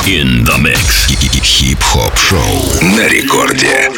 In the mix. Хип-хоп шоу на рекорде.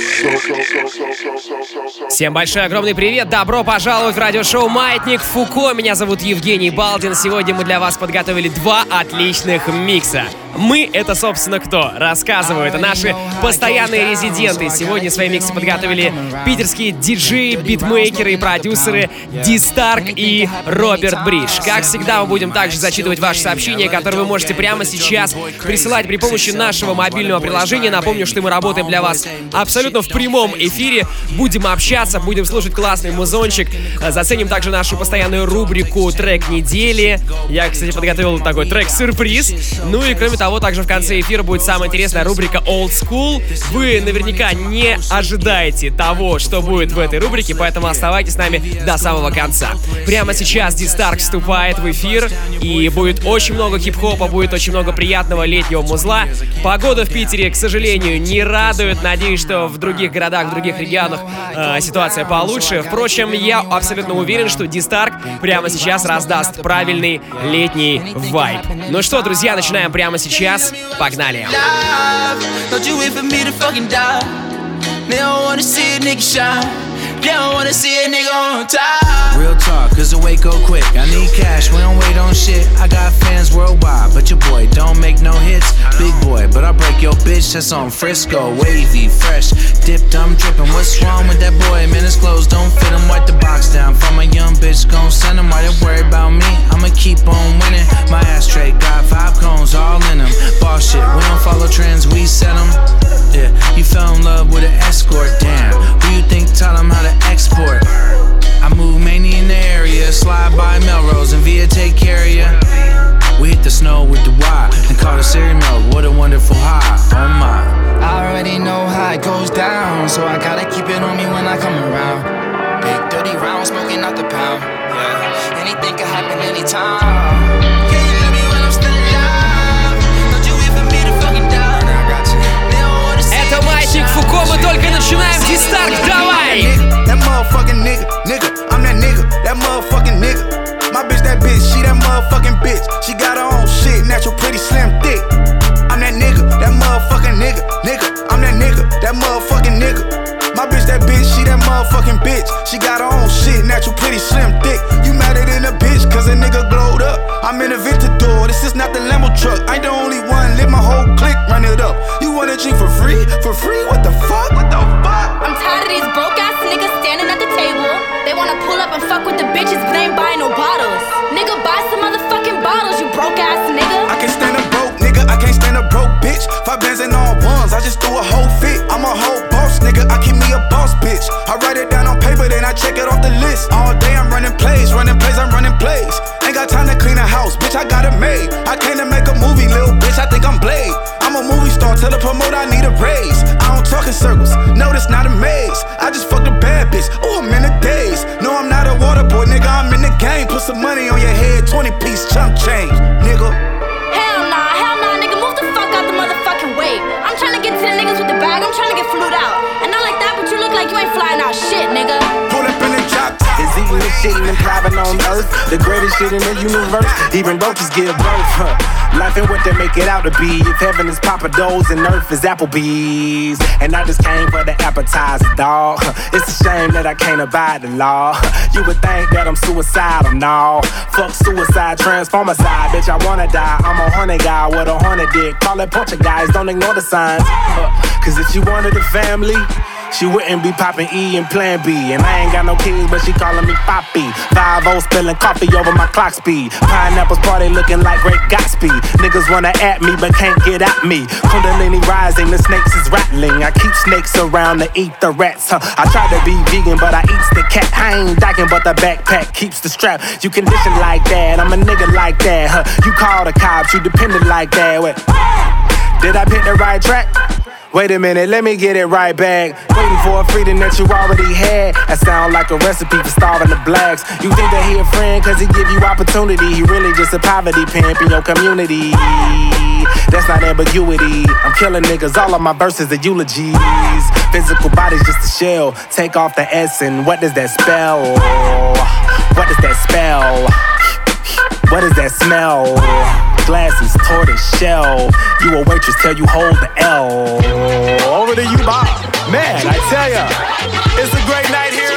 Всем большой огромный привет, добро пожаловать в радиошоу «Маятник Фуко». Меня зовут Евгений Балдин. Сегодня мы для вас подготовили два отличных микса. Мы — это, собственно, кто? Рассказываю, это наши постоянные резиденты. Сегодня свои миксы подготовили питерские диджеи, битмейкеры и продюсеры D-Stark и Роберт Бридж. Как всегда, мы будем также зачитывать ваши сообщения, которые вы можете прямо сейчас присылать при помощи нашего мобильного приложения. Напомню, что мы работаем для вас абсолютно в прямом эфире. Будем общаться, будем слушать классный музончик. Заценим также нашу постоянную рубрику «Трек недели». Я, кстати, подготовил такой трек-сюрприз. Ну и, кроме того, также в конце эфира будет самая интересная рубрика Old School. Вы наверняка не ожидаете того, что будет в этой рубрике, поэтому оставайтесь с нами до самого конца. Прямо сейчас D-Stark вступает в эфир, и будет очень много хип-хопа, будет очень много приятного летнего музла. Погода в Питере, к сожалению, не радует. Надеюсь, что в других городах, в других регионах ситуация получше. Впрочем, я абсолютно уверен, что D-Stark прямо сейчас раздаст правильный летний вайб. Ну что, друзья, начинаем прямо сейчас. Погнали! They don't wanna see a nigga on top. Real talk, cause the weight go quick. I need cash, we don't wait on shit. I got fans worldwide, but your boy don't make no hits. Big boy, but I break your bitch, that's on Frisco. Wavy, fresh, dipped, I'm dripping. What's wrong with that boy? Man, his clothes don't fit him. Wipe the box down from a young bitch, gon' send him. Why they worry about me? I'ma keep on winning. My ashtray got 5 cones all in them. Boss shit, we don't follow trends, we set them. Yeah, you fell in love with an escort, damn. Who you think taught him how to export? I move mainly in the area, slide by Melrose and Via take care of ya. We hit the snow with the Y and call it cereal milk. What a wonderful high, oh my. I already know how it goes down, so I gotta keep it on me when I come around. Big dirty round, smoking out the pound. Yeah, anything can happen anytime. Это Маятник Фуко, мы только начинаем. D-Stark, давай! That motherfucking nigga, I'm that nigga, that motherfucking nigga. My bitch, that bitch, she that motherfucking bitch. She got her own shit, natural, pretty, slim, thick. I'm that nigga, that motherfucking nigga, I'm that nigga, that motherfucking nigga. My bitch, that bitch, she that motherfucking bitch. She got her own shit, natural, pretty, slim, thick. You madder than a bitch, cause a nigga glowed up. I'm in a Ventador, this is not the Lambo truck. I ain't the only one, let my whole clique run it up. You wanna drink for free? For free? What the fuck? What the fuck? I'm tired of these broke ass niggas standing at the table. They wanna pull up and fuck with the bitches, but they ain't buying no bottles. Nigga, buy some motherfucking bottles, you broke ass nigga. I can't stand a broke nigga, I can't stand a broke bitch. 5 bands and all ones, I just threw a whole fit. I'm a whole boss nigga, I keep me a boss bitch. I write it down on paper, then I check it off the list. All day I'm running plays, I'm running plays. Ain't got time to clean a house, bitch, I got it made. I came to make a movie, little bitch, I think I'm Blade. I'm a movie star, tell the promoter I need a raise. I don't talk in circles, no, that's not a maze. I just fucked a bad bitch, ooh, I'm in a daze. No, I'm not a water boy, nigga, I'm in the game. Put some money on your head, 20-piece chump change, nigga. Hell nah, nigga, move the fuck out the motherfucking way. I'm tryna get to the niggas with the bag, I'm tryna get flued out. And not like that, but you look like you ain't flying out shit, nigga. Pull up in the drop. Is eating this shit and thriving on earth. The greatest shit in the universe. Even roaches give birth. Life ain't what they make it out to be. If heaven is Papa Do's and earth is Applebee's. And I just came for the appetizer, dawg. It's a shame that I can't abide the law. You would think that I'm suicidal, no. Fuck suicide, transformicide. Bitch, I wanna die. I'm a horny guy with a horny dick. Call it Portuguese, don't ignore the signs. Cause if she wanted a family, she wouldn't be popping E and Plan B. And I ain't got no kids, but she calling me Poppy. 5-0 spilling coffee over my clock speed. Pineapples party looking like Great Gatsby. Niggas wanna at me, but can't get at me. Kundalini rising, the snakes is rattling. I keep snakes around to eat the rats, I try to be vegan, but I eats the cat. I ain't docking, but the backpack keeps the strap. You condition like that, I'm a nigga like that, You call the cops, you dependent like that. Wait, did I pick the right track? Wait a minute, let me get it right back. Waiting for a freedom that you already had. That sound like a recipe for starving the blacks. You think that he a friend cause he give you opportunity. He really just a poverty pimp in your community. That's not ambiguity. I'm killing niggas, all of my verses are eulogies. Physical body's just a shell. Take off the S and what does that spell? What does that spell? What does that smell? glasses, tortoise shell. You a waitress till you hold the L. Over to you, Bob. Man, I tell ya, it's a great night here.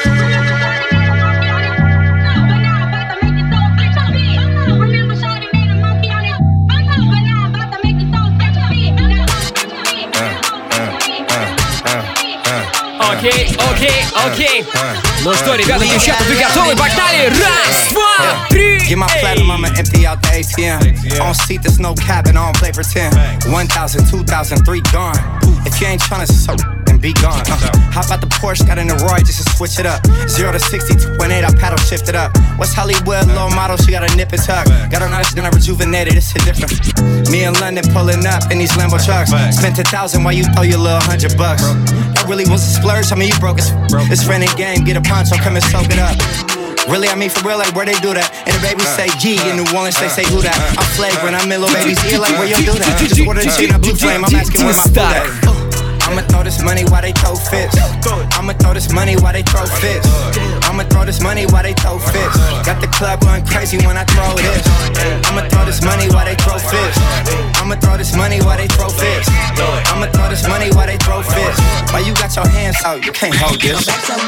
Окей. Ну что, ребята, девчата, вы готовы? Погнали! Раз, два, три! Get my platinum, I'ma empty out the ATM. On seat, there's no cabin, I don't play pretend. 1,000, 2,000, 3 gone. If you ain't tryna suck, then be gone. Hop out the Porsche, got in the Roy just to switch it up. 0 to 60, 2.8, I paddle shift it up. West Hollywood, low model, she got a nip and tuck. Got her nice, then I rejuvenated, it's a different. Me in London pulling up in these Lambo trucks. Spent 1,000 while you throw your little $100. That really was a splurge, I mean you broke it. It's renting game, get a poncho, come and soak it up. Really, I mean for real, like where they do that. And the babies say G, in New Orleans they say who that. I'm flagrant, I'm in little baby's ear, like where you do that. Just order the shit in a blue flame, I'm asking where my food at. I'ma throw this money while they throw fists. I'ma throw this money while they throw fists. I'ma throw this money while they throw fists. Got the club going crazy when I throw this. I'ma throw this money while they throw fists. I'ma throw this money while they throw fists. I'ma throw this money while they throw fists. Why you got your hands out, you can't hold this.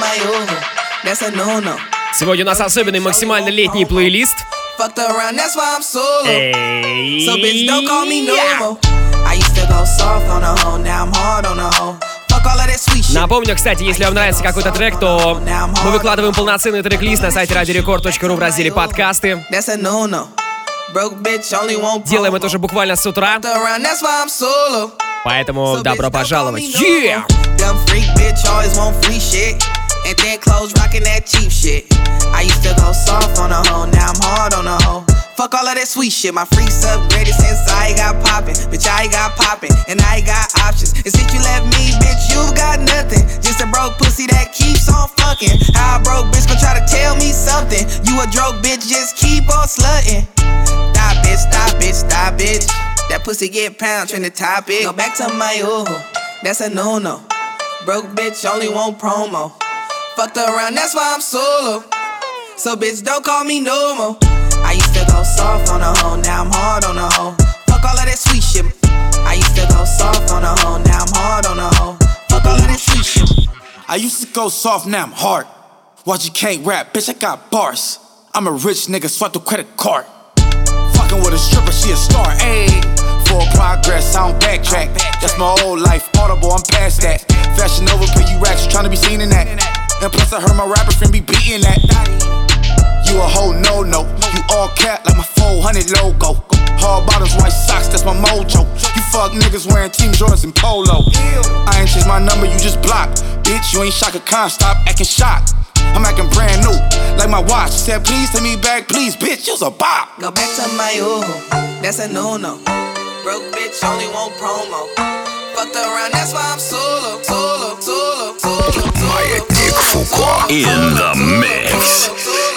That's a no-no. Сегодня у нас особенный максимально летний плейлист. Fucked around, that's why I'm solo. Эй, So bitch, don't call me normal. I used to go soft on a hoe, now I'm hard on a hoe. Fuck all of that sweet shit. Напомню, кстати, если вам нравится какой-то трек, то мы выкладываем полноценный трек-лист на сайте radiorecord.ru в разделе подкасты. That's a no-no. Broke bitch only won't Делаем это уже буквально с утра, Fucked around, that's why I'm solo. поэтому So добро bitch, don't call пожаловать. me normal. Dumb freak bitch always want free shit. And then clothes rockin' that cheap shit. I used to go soft on a hoe, now I'm hard on a hoe. Fuck all of that sweet shit, my freaks upgraded since I got poppin'. Bitch, I got poppin', and I got options. And since you left me, bitch, you got nothing. Just a broke pussy that keeps on fucking. How a broke bitch gon' try to tell me something? You a broke bitch, just keep on slutting. Stop bitch, stop bitch, stop bitch. That pussy get pound, trend the topic. Go back to my ooh, that's a no-no. Broke bitch only want promo. Fucked around, that's why I'm solo. So bitch, don't call me no more. I used to go soft on a hoe, now I'm hard on a hoe. Fuck all of that sweet shit. I used to go soft on a hoe, now I'm hard on a hoe. Fuck all of that sweet shit. I used to go soft, now I'm hard. Watch you can't rap, bitch, I got bars. I'm a rich nigga, swipe the credit card. Fucking with a stripper, she a star, ayy. Full progress, I don't backtrack. That's my old life, audible, I'm past that. Fashion over, pay you racks, you tryna be seen in that. And plus I heard my rapper friend be beating that. You a whole no-no, you all cap like my 400 logo. Hard bottoms, white socks, that's my mojo. You fuck niggas wearing Team Jordans and Polo. I ain't changed my number, you just blocked. Bitch, you ain't Shaka Khan, stop acting shocked. I'm acting brand new, like my watch. She said, please take me back, please, bitch, you's a bop. Go back to my ooh, that's a no-no. Broke bitch only want promo. Fucked around, that's why I'm solo. Маятник Фуко in the mix.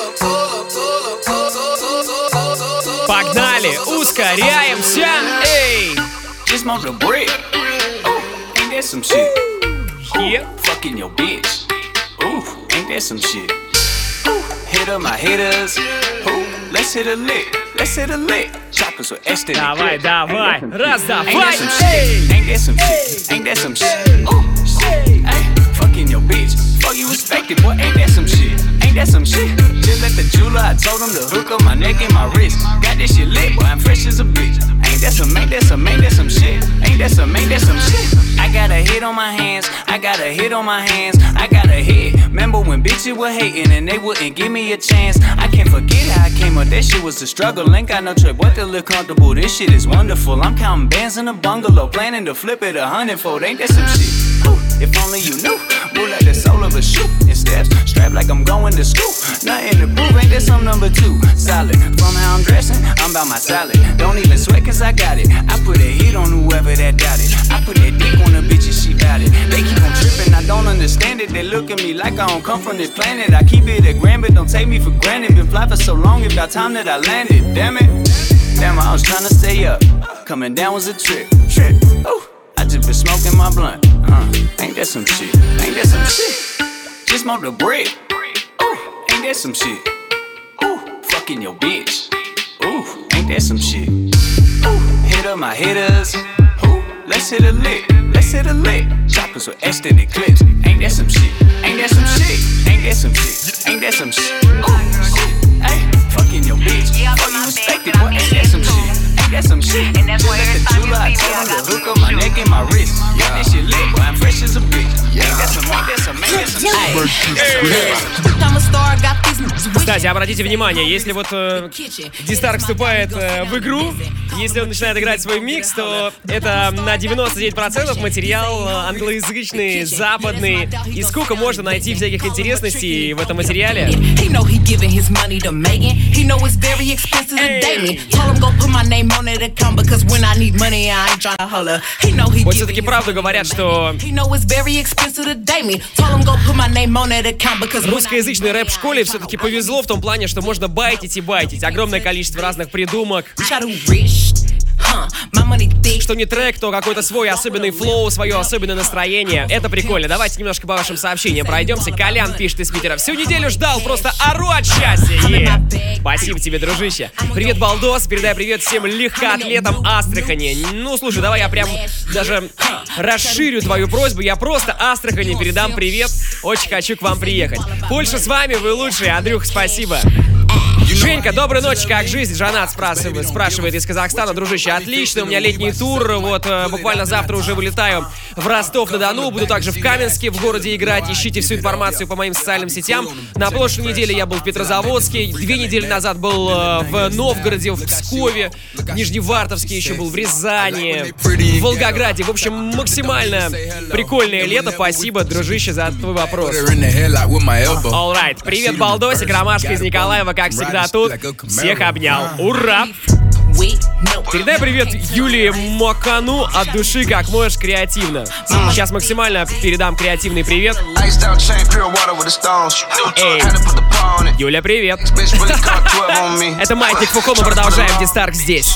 Погнали, ускоряемся, эй! Just smoke the brick. Ooh, ain't that some shit? Yeah. Fucking your bitch. Ooh, ain't that some shit? Ooh, hit up my hitters. Ooh, let's hit a lick. Let's hit a lick. Choppers with extra. Давай, давай, раз, Ain't давай, that some эй! shit? Ain't that some shit? Ain't that some shit? Ooh, shit. Ay, fucking your bitch. Fuck you respected, boy. Ain't that some shit? Ain't that some shit? Just at the jeweler, I told him to hook up my neck and my wrist. Got this shit lit, boy. I'm fresh as a bitch. Ain't that some shit? Ain't that some shit? I got a hit on my hands. I got a hit on my hands. I got a hit. Remember when bitches were hating and they wouldn't give me a chance? I can't forget how I came up. That shit was a struggle. Ain't got no trip, but to look comfortable. This shit is wonderful. I'm counting bands in a bungalow, planning to flip it 100-fold. Ain't that some shit? Ooh, if only you knew. Move like the soul of a shoe. In steps, strapped like I'm going to school. Nothing to prove, ain't that some number 2? Solid. From how I'm dressing, I'm about my salad. Don't even sweat cause I got it. I put a hit on whoever that doubted. I put that dick on the bitch and she bout it. They keep on tripping, I don't understand it. They look at me like I don't come from this planet. I keep it a grand, but don't take me for granted. Been fly for so long, it's about time that I landed. Damn it. Damn, I was trying to stay up. Coming down was a trip. Ooh, I just been smoking my blunt. Ain't that some shit? Ain't that some shit? Just smoke the brick. Ooh, ain't that some shit? Ooh, fucking your bitch. Ooh, ain't that some shit? of my hitters. Ooh, let's hit a lick, let's hit a lick. Choppers with extended clips. Ain't that some shit? Ain't that some shit? Ain't that some shit? Ain't that some shit? Ooh, ay, fucking your bitch. Fuck you respected, boy. Ain't that some shit? Ain't that some shit? Just let the jeweler, I told him to hook up my neck and my wrist. Got this shit lit, boy. I'm fresh as a bitch. Ain't that some? Ain't that some? Ain't that some shit? I'm a star, got these. Кстати, обратите внимание, если вот D-Star вступает в игру, если он начинает играть свой микс, то это на 99% материал англоязычный, западный. И сколько можно найти всяких интересностей в этом материале. Вот все-таки правду говорят, что русскоязычной рэп-школе все-таки повезло в том плане, что можно байтить и байтить. Огромное количество разных придумок. Что не трек, то какой-то свой особенный флоу, свое особенное настроение. Это прикольно. Давайте немножко по вашим сообщениям пройдемся. Колян пишет из Питера. Всю неделю ждал, просто ору от счастья. Спасибо тебе, дружище. Привет, Балдос. Передай привет всем легкоатлетам Астрахани. Ну, слушай, давай я прям даже расширю твою просьбу. Я просто Астрахани передам привет. Очень хочу к вам приехать. Польша с вами, вы лучшие. Андрюх, спасибо. Женька, доброй ночи, как жизнь? Жанат спрашивает из Казахстана. Дружище, отлично, у меня летний тур. Вот буквально завтра уже вылетаю в Ростов-на-Дону. Буду также в Каменске в городе играть. Ищите всю информацию по моим социальным сетям. На прошлой неделе я был в Петрозаводске. 2 недели назад был в Новгороде, в Пскове, в Нижневартовске еще был, в Рязани, в Волгограде. В общем, максимально прикольное лето. Спасибо, дружище, за твой вопрос. Alright, привет, Балдосик, Ромашка из Николаева, как всегда тут. Всех обнял. Ура! Передай привет Юлии Макану от души, как можешь, креативно. Сейчас максимально передам креативный привет. Эй, Юля, привет. Это Маятник Фуко, мы продолжаем. D-Star здесь.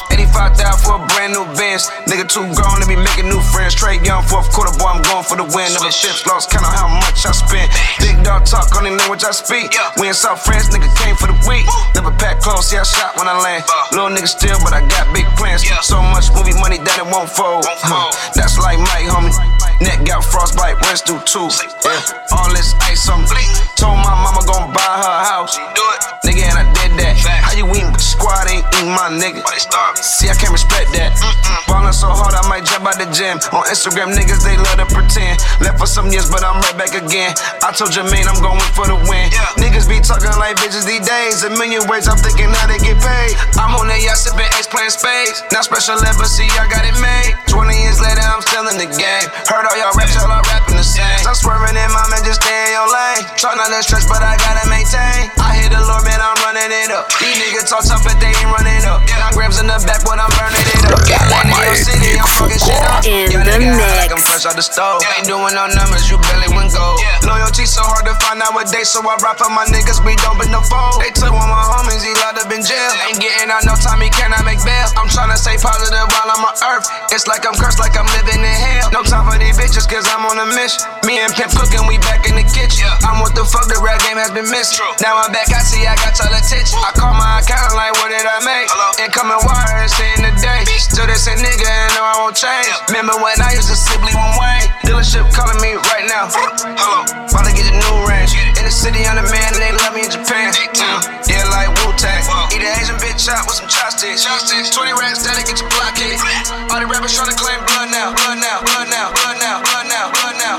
But I got big plans. So much movie money that it won't fold. That's like Mike, homie. Neck got frostbite, runs through two. Yeah. All this ice on me. Told my mama gon' buy her house. Nigga, and I did that. How you eatin' but the squad ain't eating my nigga? See, I can't respect that. Ballin' so hard I might jump out the gym. On Instagram, niggas, they love to pretend. Left for some years, but I'm right back again. I told Jermaine I'm going for the win. Niggas be talking like bitches these days. A million ways I'm thinking how they get paid. I'm on that yacht sipping Ace playing spades. Now special ed, but see, I got it made. 20 years later, I'm still in the game. Heard all y'all raps, y'all are rapping the same. I'm swerving in my man, just stay in your lane. Try not to stretch, but I gotta maintain. I hear the Lord, man, I'm running it up. These niggas talk tough, but they ain't running up. 9 grams in the back, but I'm burning it up. Land in your city, I'm fucking shit up. Y'all niggas like I'm fresh out the stove. Ain't doing no numbers, you barely win gold. Loyalty so hard to find nowadays, so I rap for my niggas, we don't bend the fold. They took one of my homies, he locked up in jail. Ain't getting out no time, he cannot make bail. I'm tryna stay positive while I'm on earth. It's like I'm cursed, like I'm living in hell. No time for these bitches, cause I'm on a mission. Me and Pimp cooking, we back in the kitchen. I'm what the fuck, the rap game has been missing. Now I'm back, I see I got y'all attention. I call my account like, what did I make? Incoming wire, it's in the day. Still they say nigga, and no, I won't change. Remember when I used to simply one way? Dealership calling me right now. Hello, about to get a new range. In the city, I'm the man, and they love me in Japan. Yeah, like Wu-Tang. Eat an Asian bitch out with some chopsticks. 20 racks, that'll get your block hit. All the rappers tryna claim blood now. Blood now, blood now, blood now, blood now, blood now.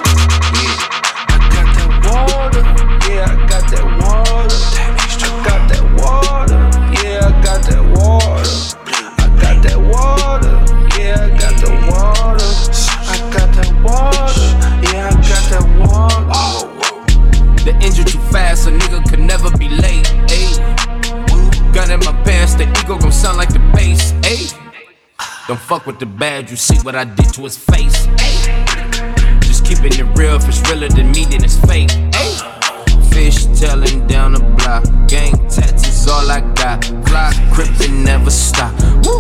Yeah, I got that water. I got that water. Yeah, I got that water. I got that water. Yeah, I got that water. I got that water. Yeah, I got that water. The engine too fast, a nigga could never be late. Ayy, gun in my pants, the ego gon' sound like the bass. Ayy, don't fuck with the bad, you see what I did to his face. Ayy, just keeping it real, if it's realer than me, then it's fake. Ayy, fish tailing down the block, gang tattoos all I got. Fly, crippin', never stop. Woo,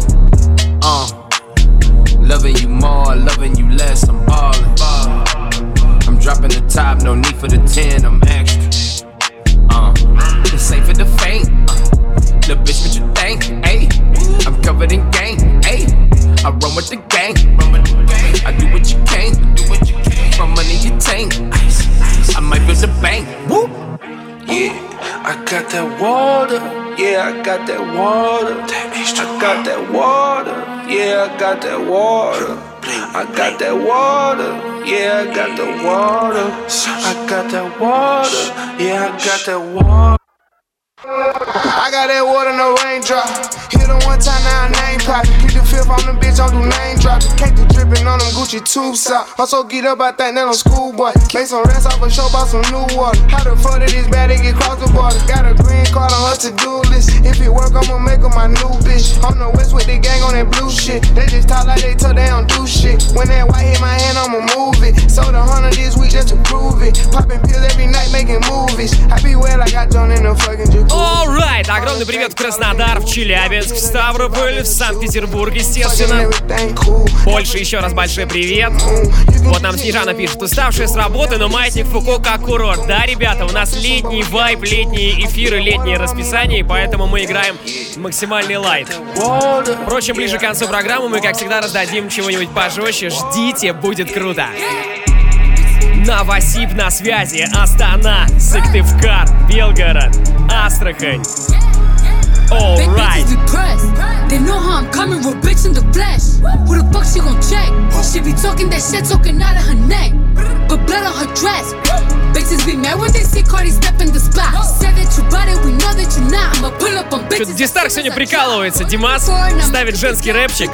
loving you more, loving you less, I'm ballin'. I'm dropping the top, no need for the 10, I'm extra. This ain't for the faint. Little bitch, what you think? Ayy, I'm covered in gang. Ayy, I roll that water, yeah, I got that water. I got that water, yeah, I got that water. I got that water, yeah, I got the water. I got that water, yeah, I got that water. I got that water, no raindrop. Hit them one time, now name poppin'. Keep the fifth on the bitch, don't do name dropping. Cake the drippin' on them Gucci tubes out. I'm so geeked up, I think that I'm schoolboy. Make some rest off a show, bought some new water. How the fuck did this bad, they get cross the border? Got a green card on her to-do list. If it work, I'ma make her my new bitch. On the west with the gang on that blue shit. They just talk like they told they don't do shit. When that white hit my hand, I'ma move it. Sold 100 this week just to prove it. Poppin' pills every night, making movies. I be well like I done in the fucking jacuzzi. Alright, огромный привет в Краснодар, в Челябинск, в Ставрополь, в Санкт-Петербург, естественно. Польша, еще раз большой привет. Вот нам Снежана пишет: уставшая с работы, но маятник Фуко как курорт. Да, ребята, у нас летний вайб, летние эфиры, летнее расписание, и поэтому мы играем максимальный лайт. Впрочем, ближе к концу программы мы, как всегда, раздадим чего-нибудь пожестче. Ждите, будет круто. Новосиб на связи, Астана, Сыктывкар, Белгород, Астрахань. Alright. They know how I'm coming, real bitch in the flesh. Who the fuck she gon' check? She be talking that shit, talking out of her neck. Put blood on her dress. Bitches be mad when they see Cardi step in the spot. Said that you bought it, we know that you not. I'ma pull up on bitches. Что-то Дистарк сегодня прикалывается. Димас ставит женский рэпчик.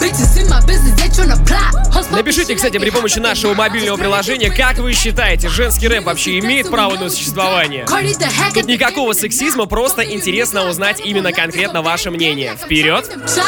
Напишите, кстати, при помощи нашего мобильного приложения, как вы считаете, женский рэп вообще имеет право на существование? Тут никакого сексизма, просто интересно узнать именно конкретно ваше мнение. Вперед!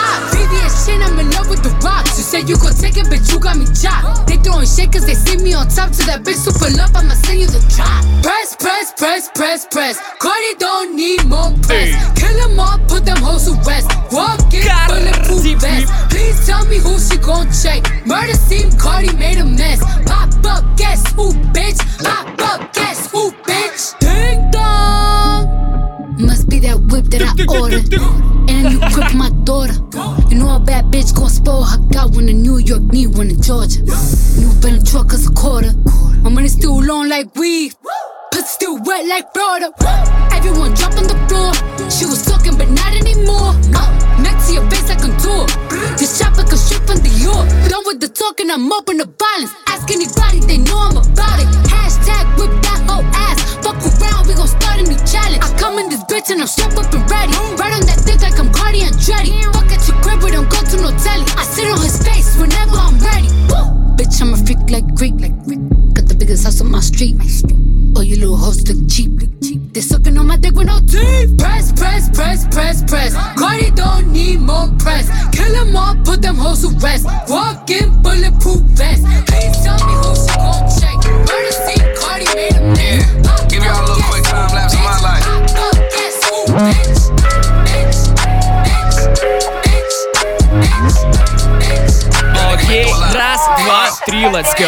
Press, press, press, press, press. Cardi don't need more press. Kill them all, put them hoes to rest. Walk in bulletproof vest. Please tell me who she gon' check. Murder scene, Cardi made a mess. Pop up, guess who, bitch? Pop up, guess who, bitch? Ding dong. Must be that whip that I ordered. And you grip my daughter. You know a bad bitch gon' spoil her. Got one in New York, need one in Georgia. New Bentley truck is a quarter. My money still long like weed. Pussy still wet like Florida. Everyone drop on the floor. She was talking, but not anymore. Next to your face like a tour. This chopper can strip from the York. Done with the talking, I'm open to violence. Ask anybody, they know I'm about it. Hashtag whip that whole ass. Fuck around, we gon' start a new challenge. I come in this bitch and I'm strapped up and ready. Right on that dick like I'm Cardi Andretti. Fuck at your crib, we don't go to no telly. I sit on his face whenever I'm ready. Woo! Bitch, I'm a freak like Greek. Got the biggest house on my street. Oh, you little hoes look cheap. They sucking on my dick with no teeth. Press, press, press, press, press. Cardi don't need more press. Kill them all, put them hoes to rest. Walk in bulletproof vest. Please tell me who she gon' check. Murder scene, Cardi made a mess. Yeah, give y'all a little quick time lapse of my life. Guess who, bitch? Bitch, bitch, bitch, bitch, bitch. Окей, раз, два, три, let's go.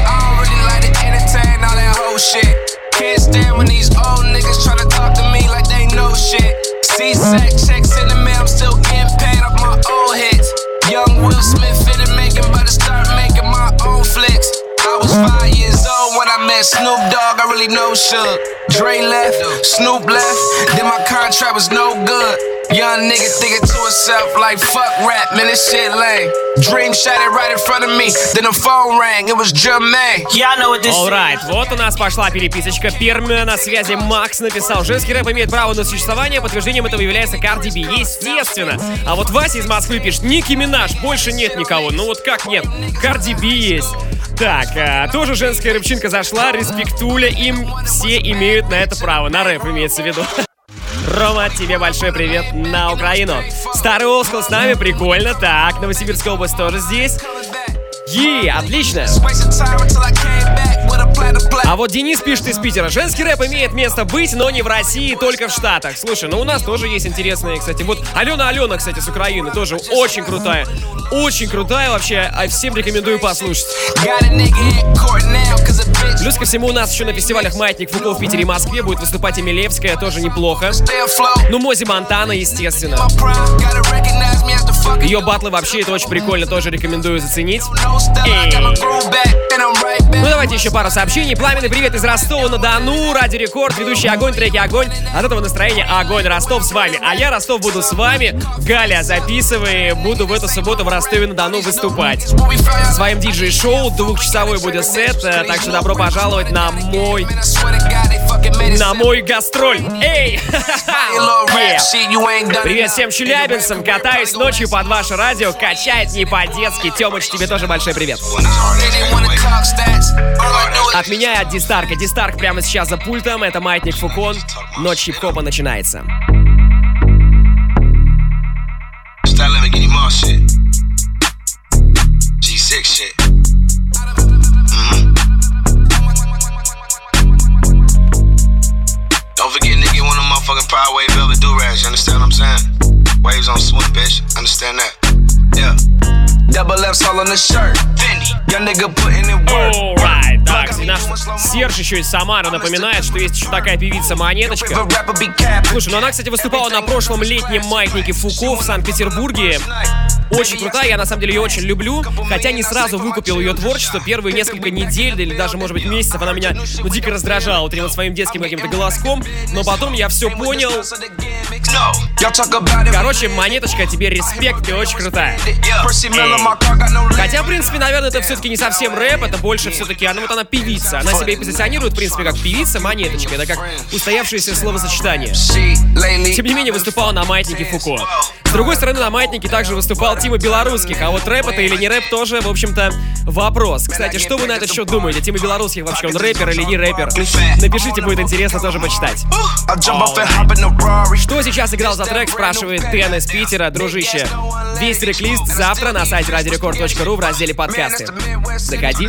Shit. Can't stand when these old niggas try to talk to me like they know shit. C-Sec checks in the mail, I'm still getting paid off my old hits. Young Will Smith fitted making, but I start making my own flicks. I was 5 years old when I met Snoop Dogg, I really know Suge. Dre left, Snoop left, then my contract was no good. Young nigga thinking to himself like fuck rap, man, this shit lame. Dream shattered right in front of me, then the phone rang, it was Jermaine. Yeah, I know what this is. Alright, вот у нас пошла переписочка. Первая на связи Макс написал: женский рэп имеет право на существование, подтверждением этого является Карди Би. Естественно. А вот Вася из Москвы пишет: Ники Минаж, больше нет никого. Ну вот как нет? Карди Би есть. Так, тоже женская рэпчинка зашла, респектуля, им все имеют на это право. На рэп имеется в виду. Рома, тебе большой привет на Украину. Старый Олскул с нами, прикольно. Так, Новосибирская область тоже здесь. Отлично. А вот Денис пишет из Питера: женский рэп имеет место быть, но не в России, только в Штатах. Слушай, ну у нас тоже есть интересные, кстати. Вот Алена, кстати, с Украины, тоже очень крутая. Очень крутая вообще, всем рекомендую послушать. Плюс ко всему у нас еще на фестивалях «Маятник Фуко» в Питере и Москве будет выступать Эмилевская, тоже неплохо. Ну, Мози Монтана, естественно. Ее батлы вообще, это очень прикольно, тоже рекомендую заценить. Ну, давайте еще пару сообщений сообщений. Пламенный привет из Ростова-на-Дону. Радио Рекорд, ведущий огонь, треки огонь. От этого настроения огонь. Ростов с вами. А я, Ростов, буду с вами. Галя, записывай. Буду в эту субботу в Ростове-на-Дону выступать. Со своим диджей-шоу. 2-часовой будет сет. Так что добро пожаловать на мой гастроль. Эй! Привет всем челябинцам. Катаюсь ночью под ваше радио. Качает не по-детски. Тёмыч, тебе тоже большой привет. От меня и от Дистарка. Дистарк прямо сейчас за пультом. Это Маятник Фукон. Ночь хип-хопа начинается. Don't forget, nigga, one of motherfucking Power Wave velvet do-rags, you understand what I'm saying? Waves on swim, bitch, understand that? Yeah. Double F's all on the shirt. Fendi, young nigga putting in work. Alright, так, наш Серж еще из Самары напоминает, что есть еще такая певица Монеточка. Слушай, ну она, кстати, выступала на прошлом летнем маятнике Фуко в Санкт-Петербурге. Очень крутая, я на самом деле ее очень люблю, хотя не сразу выкупил ее творчество. Первые несколько недель или даже, может быть, месяцев она меня дико раздражала вот этим вот своим детским каким-то голоском, но потом я все понял. Короче, Монеточка, тебе респект, ты очень крутая. Хотя, в принципе, наверное, это все-таки не совсем рэп, это больше все-таки, она певица. Она себя и позиционирует, в принципе, как певица Монеточка. Это как устоявшееся словосочетание. Тем не менее, выступала на маятнике Фуко. С другой стороны, на маятнике также выступал Тима Белорусских, а вот рэп это или не рэп тоже, в общем-то, вопрос. Кстати, что вы на этот счет думаете? Тима Белорусских вообще, он рэпер или не рэпер? Напишите, будет интересно тоже почитать. Что сейчас играл за трек, спрашивает Дэн из Питера. Дружище, весь трек-лист завтра на сайте radiorecord.ru в разделе подкасты. Заходи.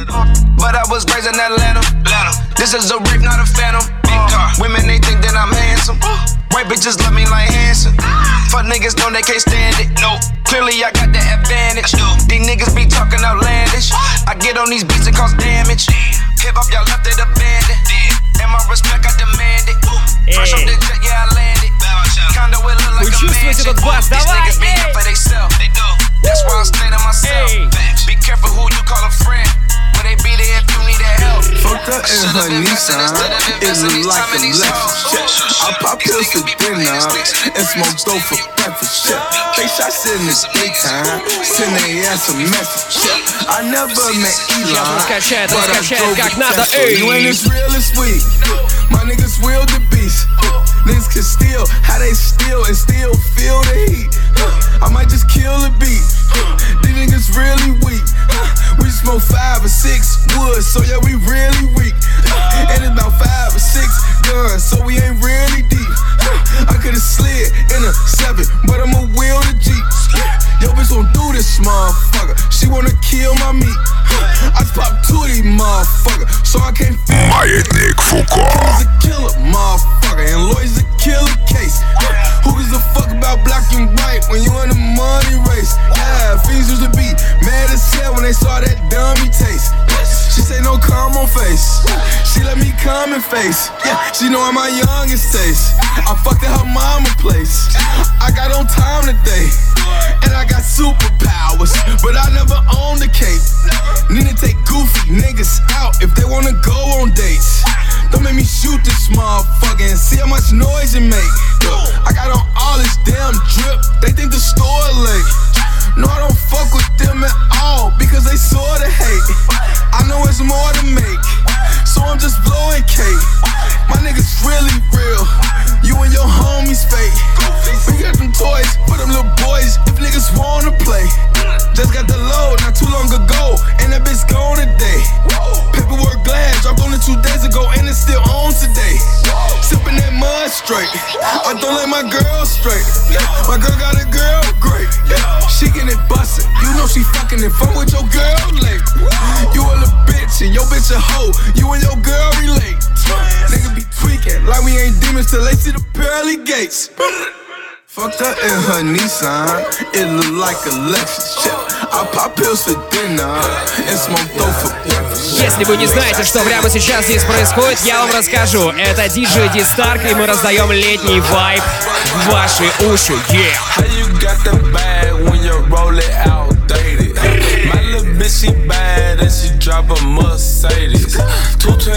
White bitches love me like Hanson. Fuck niggas know they can't stand it. No, clearly I got the advantage. These niggas be talking outlandish. I get on these beats and cause damage. Hip hop, y'all left it abandoned. And my respect, I demand it. Fresh off the jet, yeah, I landed. Kinda will look like a mansion. These niggas be here for they self. That's why I stay to myself. Be careful who you call a friend. When they be there if you need that help. Fucked up in her Nissan, it look like a Lexus. I pop pills for dinner and smoke dope for breakfast. They shots in the daytime, send their ass a message. I never met Elon, but I drove a Tesla. You ain't as real as we, my niggas will the beast. Niggas can steal, how they steal and still feel the heat. I might just kill the beat. These niggas really weak. We smoke 5 or 6 woods, so yeah, we really weak. And it's about 5 or 6 guns, so we ain't really deep. I could've slid in a 7, but I'ma wheel the Jeep. Yo, bitch gon' do this, motherfucker. She wanna kill my meat. I just popped 2 of these motherfuckers, so I can't feel. Маятник Фуко. He's a killer, motherfucker, and Lloyd's a killer case. Who gives a fuck about black and white when you in the money race? Yeah, fiends used to be mad as hell when they saw that dummy taste. She say no calm on face. She let me come in face. Yeah, she know I'm my youngest taste. I fucked at her mama place. I got on time today, and I got superpowers, but I never owned the cape. Need to take goofy niggas out if they wanna go on dates. Don't make me shoot this motherfucker and see how much noise it make. I got on all this damn drip, they think the store late. No, I don't fuck with them at all because they sorta hate. I know it's more to make, so I'm just blowing cake. My niggas really real, you and your homies fake. We got them toys for them little boys if niggas wanna play. Just got the load not too long ago, and that bitch gone today. Paperwork glass dropped on it 2 days ago, and it's still on today. Sipping that mud straight, I don't let my girl straight. My girl got a girl great, she getting it bustin'. You know she fucking and fun with your girl late. You a little bitch and your bitch a hoe. You and your girl relate. Nigga be tweaking like we ain't demons till they see the pearly gates. Fucked up in her Nissan, it look like a Lexus. I pop pills for dinner and smoke dope for breakfast. Если вы не знаете, что прямо сейчас здесь происходит, я вам расскажу. Это диджей Дистарк, и мы раздаем летний вайб в ваши уши. Bitch, she bad and she drive a Mercedes. 2 to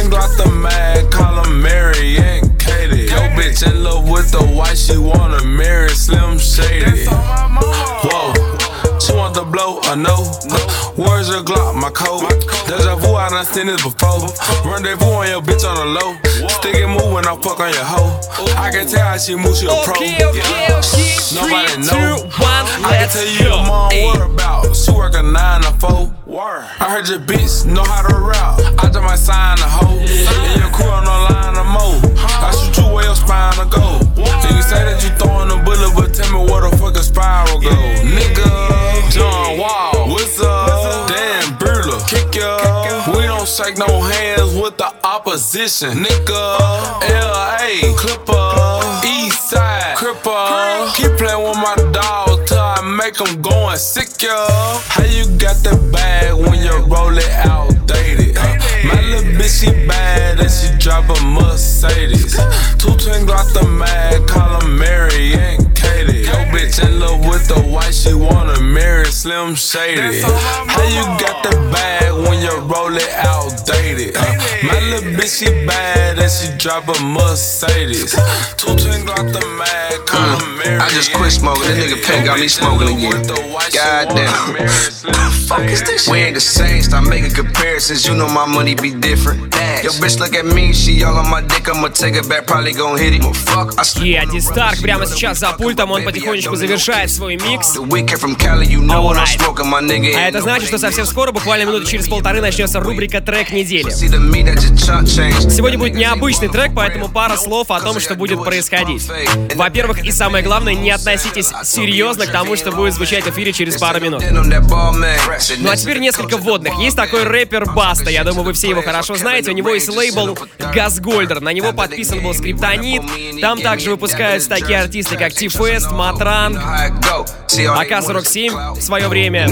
blow or no? Where's your Glock, my code? Deja vu, I done seen this before. Rendezvous on your bitch on the low. Stick it move when I fuck on your hoe. I can tell how she moves, she a pro. Nobody know. I can tell you your mom what about. She work a 9 to 4. I heard your bitch know how to rap. I just might sign a hoe. And your crew on the line of mo. I shoot you where your spine to go. And you say that you throwing a bullet, but tell me where the fuck a spiral go. Nigga, John Wall, what's up? Dan Burla, kick ya. We don't shake no hands with the opposition. Nigga, L.A., Clipper, East Side, Cripper. Keep playing with my dog till I make him going sick, yo. How you got that bag when you roll it outdated? My little bitch, she bad and she drive a Mercedes. 2 twin got the mag, call her Mary and Katie. Yo bitch in love with the white, she wanna marry Slim Shady. How you got the bag when you roll it outdated? My little bitch, she bad and she drive a Mercedes. 2 twin got the mag, call her Mary. I just quit smoking, that nigga Pink got me smoking again. Goddamn. Fuck is this? We ain't the same, stop making comparisons, you know my money be different. Yo bitch look at me, she all on my dick, I'ma take it back, probably gon' hit it. Fuck. И Ади Старк прямо сейчас за пультом, он потихонечку завершает свой микс. Alright. А это значит, что совсем скоро, буквально минуты через полторы, начнется рубрика «Трек недели». Сегодня будет необычный трек, поэтому пара слов о том, что будет происходить. Во-первых, и самое главное, не относитесь серьезно к тому, что будет звучать в эфире через пару минут. Ну а теперь несколько вводных. Есть такой рэпер Баста, я думаю, вы все его хорошо знаете. У него есть лейбл Газгольдер, на него подписан был Скриптонит. Там также выпускаются такие артисты, как Ти-Фест, Матран, АК-47 в свое время.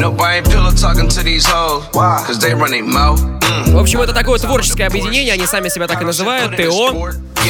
В общем, это такое творческое объединение, они сами себя так и называют, ТО.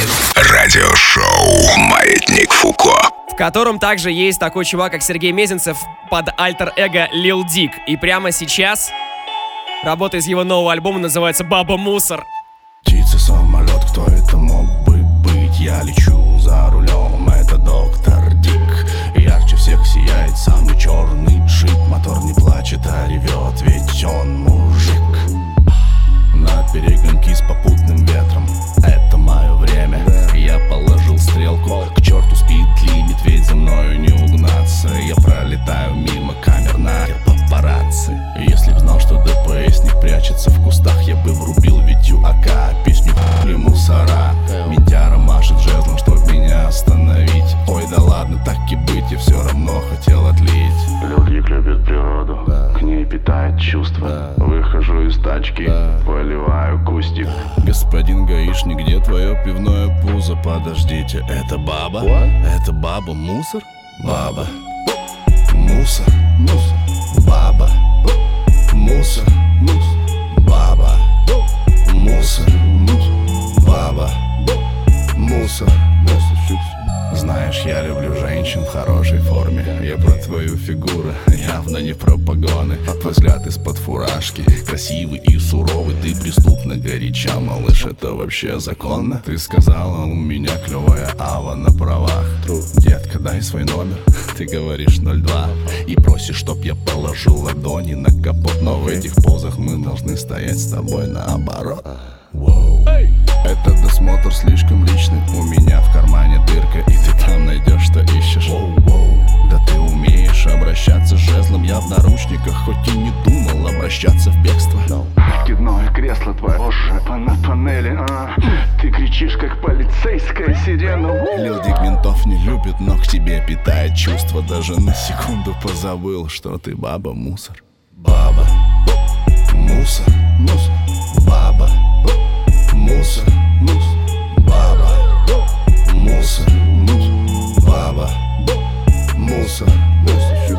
Радиошоу «Маятник Фуко», в котором также есть такой чувак, как Сергей Мезенцев под альтер-эго Lil Dick. И прямо сейчас работа из его нового альбома называется «Баба Мусор». Птица, самолет, кто это мог бы быть? Я лечу за рулем, это доктор Дик. Ярче всех сияет самый черный джип. Мотор не плачет, а ревет, ведь он мужик. На перегонки с попутным ветром, это мое время. Я положил стрелку, к черту спид-лимит, ведь за мною не угнаться. Я пролетаю мимо камер на папарацци. Если б знал, что ДПСник прячется в кустах, я бы врубил Витю АК, песню и мусора. Ментяра машет жезлом, чтоб меня остановить. Ой, да ладно, так и быть, я все равно хотел отлить. Люди любят природу, к ней питает чувства. Выхожу из тачки, поливаю кустик. Господин гаишник, где твое пивное пузо? Подождите, это баба? Это баба мусор? Баба мусор, мусор, баба мусор, мусор, баба мусор, мусор, баба мусор, мусор. Знаешь, я люблю женщин в хорошей форме. Я про твою фигуру, явно не про погоны. Твой взгляд из-под фуражки, красивый и суровый. Ты преступно горяча, малыш, это вообще законно? Ты сказала, у меня клевая ава на правах. Детка, дай свой номер, ты говоришь 02 и просишь, чтоб я положил ладони на капот. Но в этих позах мы должны стоять с тобой наоборот. Этот досмотр слишком личный. У меня в кармане дырка, и ты там найдешь, что ищешь. Да ты умеешь обращаться с жезлом. Я в наручниках, хоть и не думал обращаться в бегство. Откидное кресло твое на панели. Ты кричишь, как полицейская сирена. Lil Dick ментов не любит, но к тебе питает чувство. Даже на секунду позабыл, что ты баба мусор. Баба мусор, мусор, баба мусор, мусор, баба мусор, мусор, баба мусор, мусор.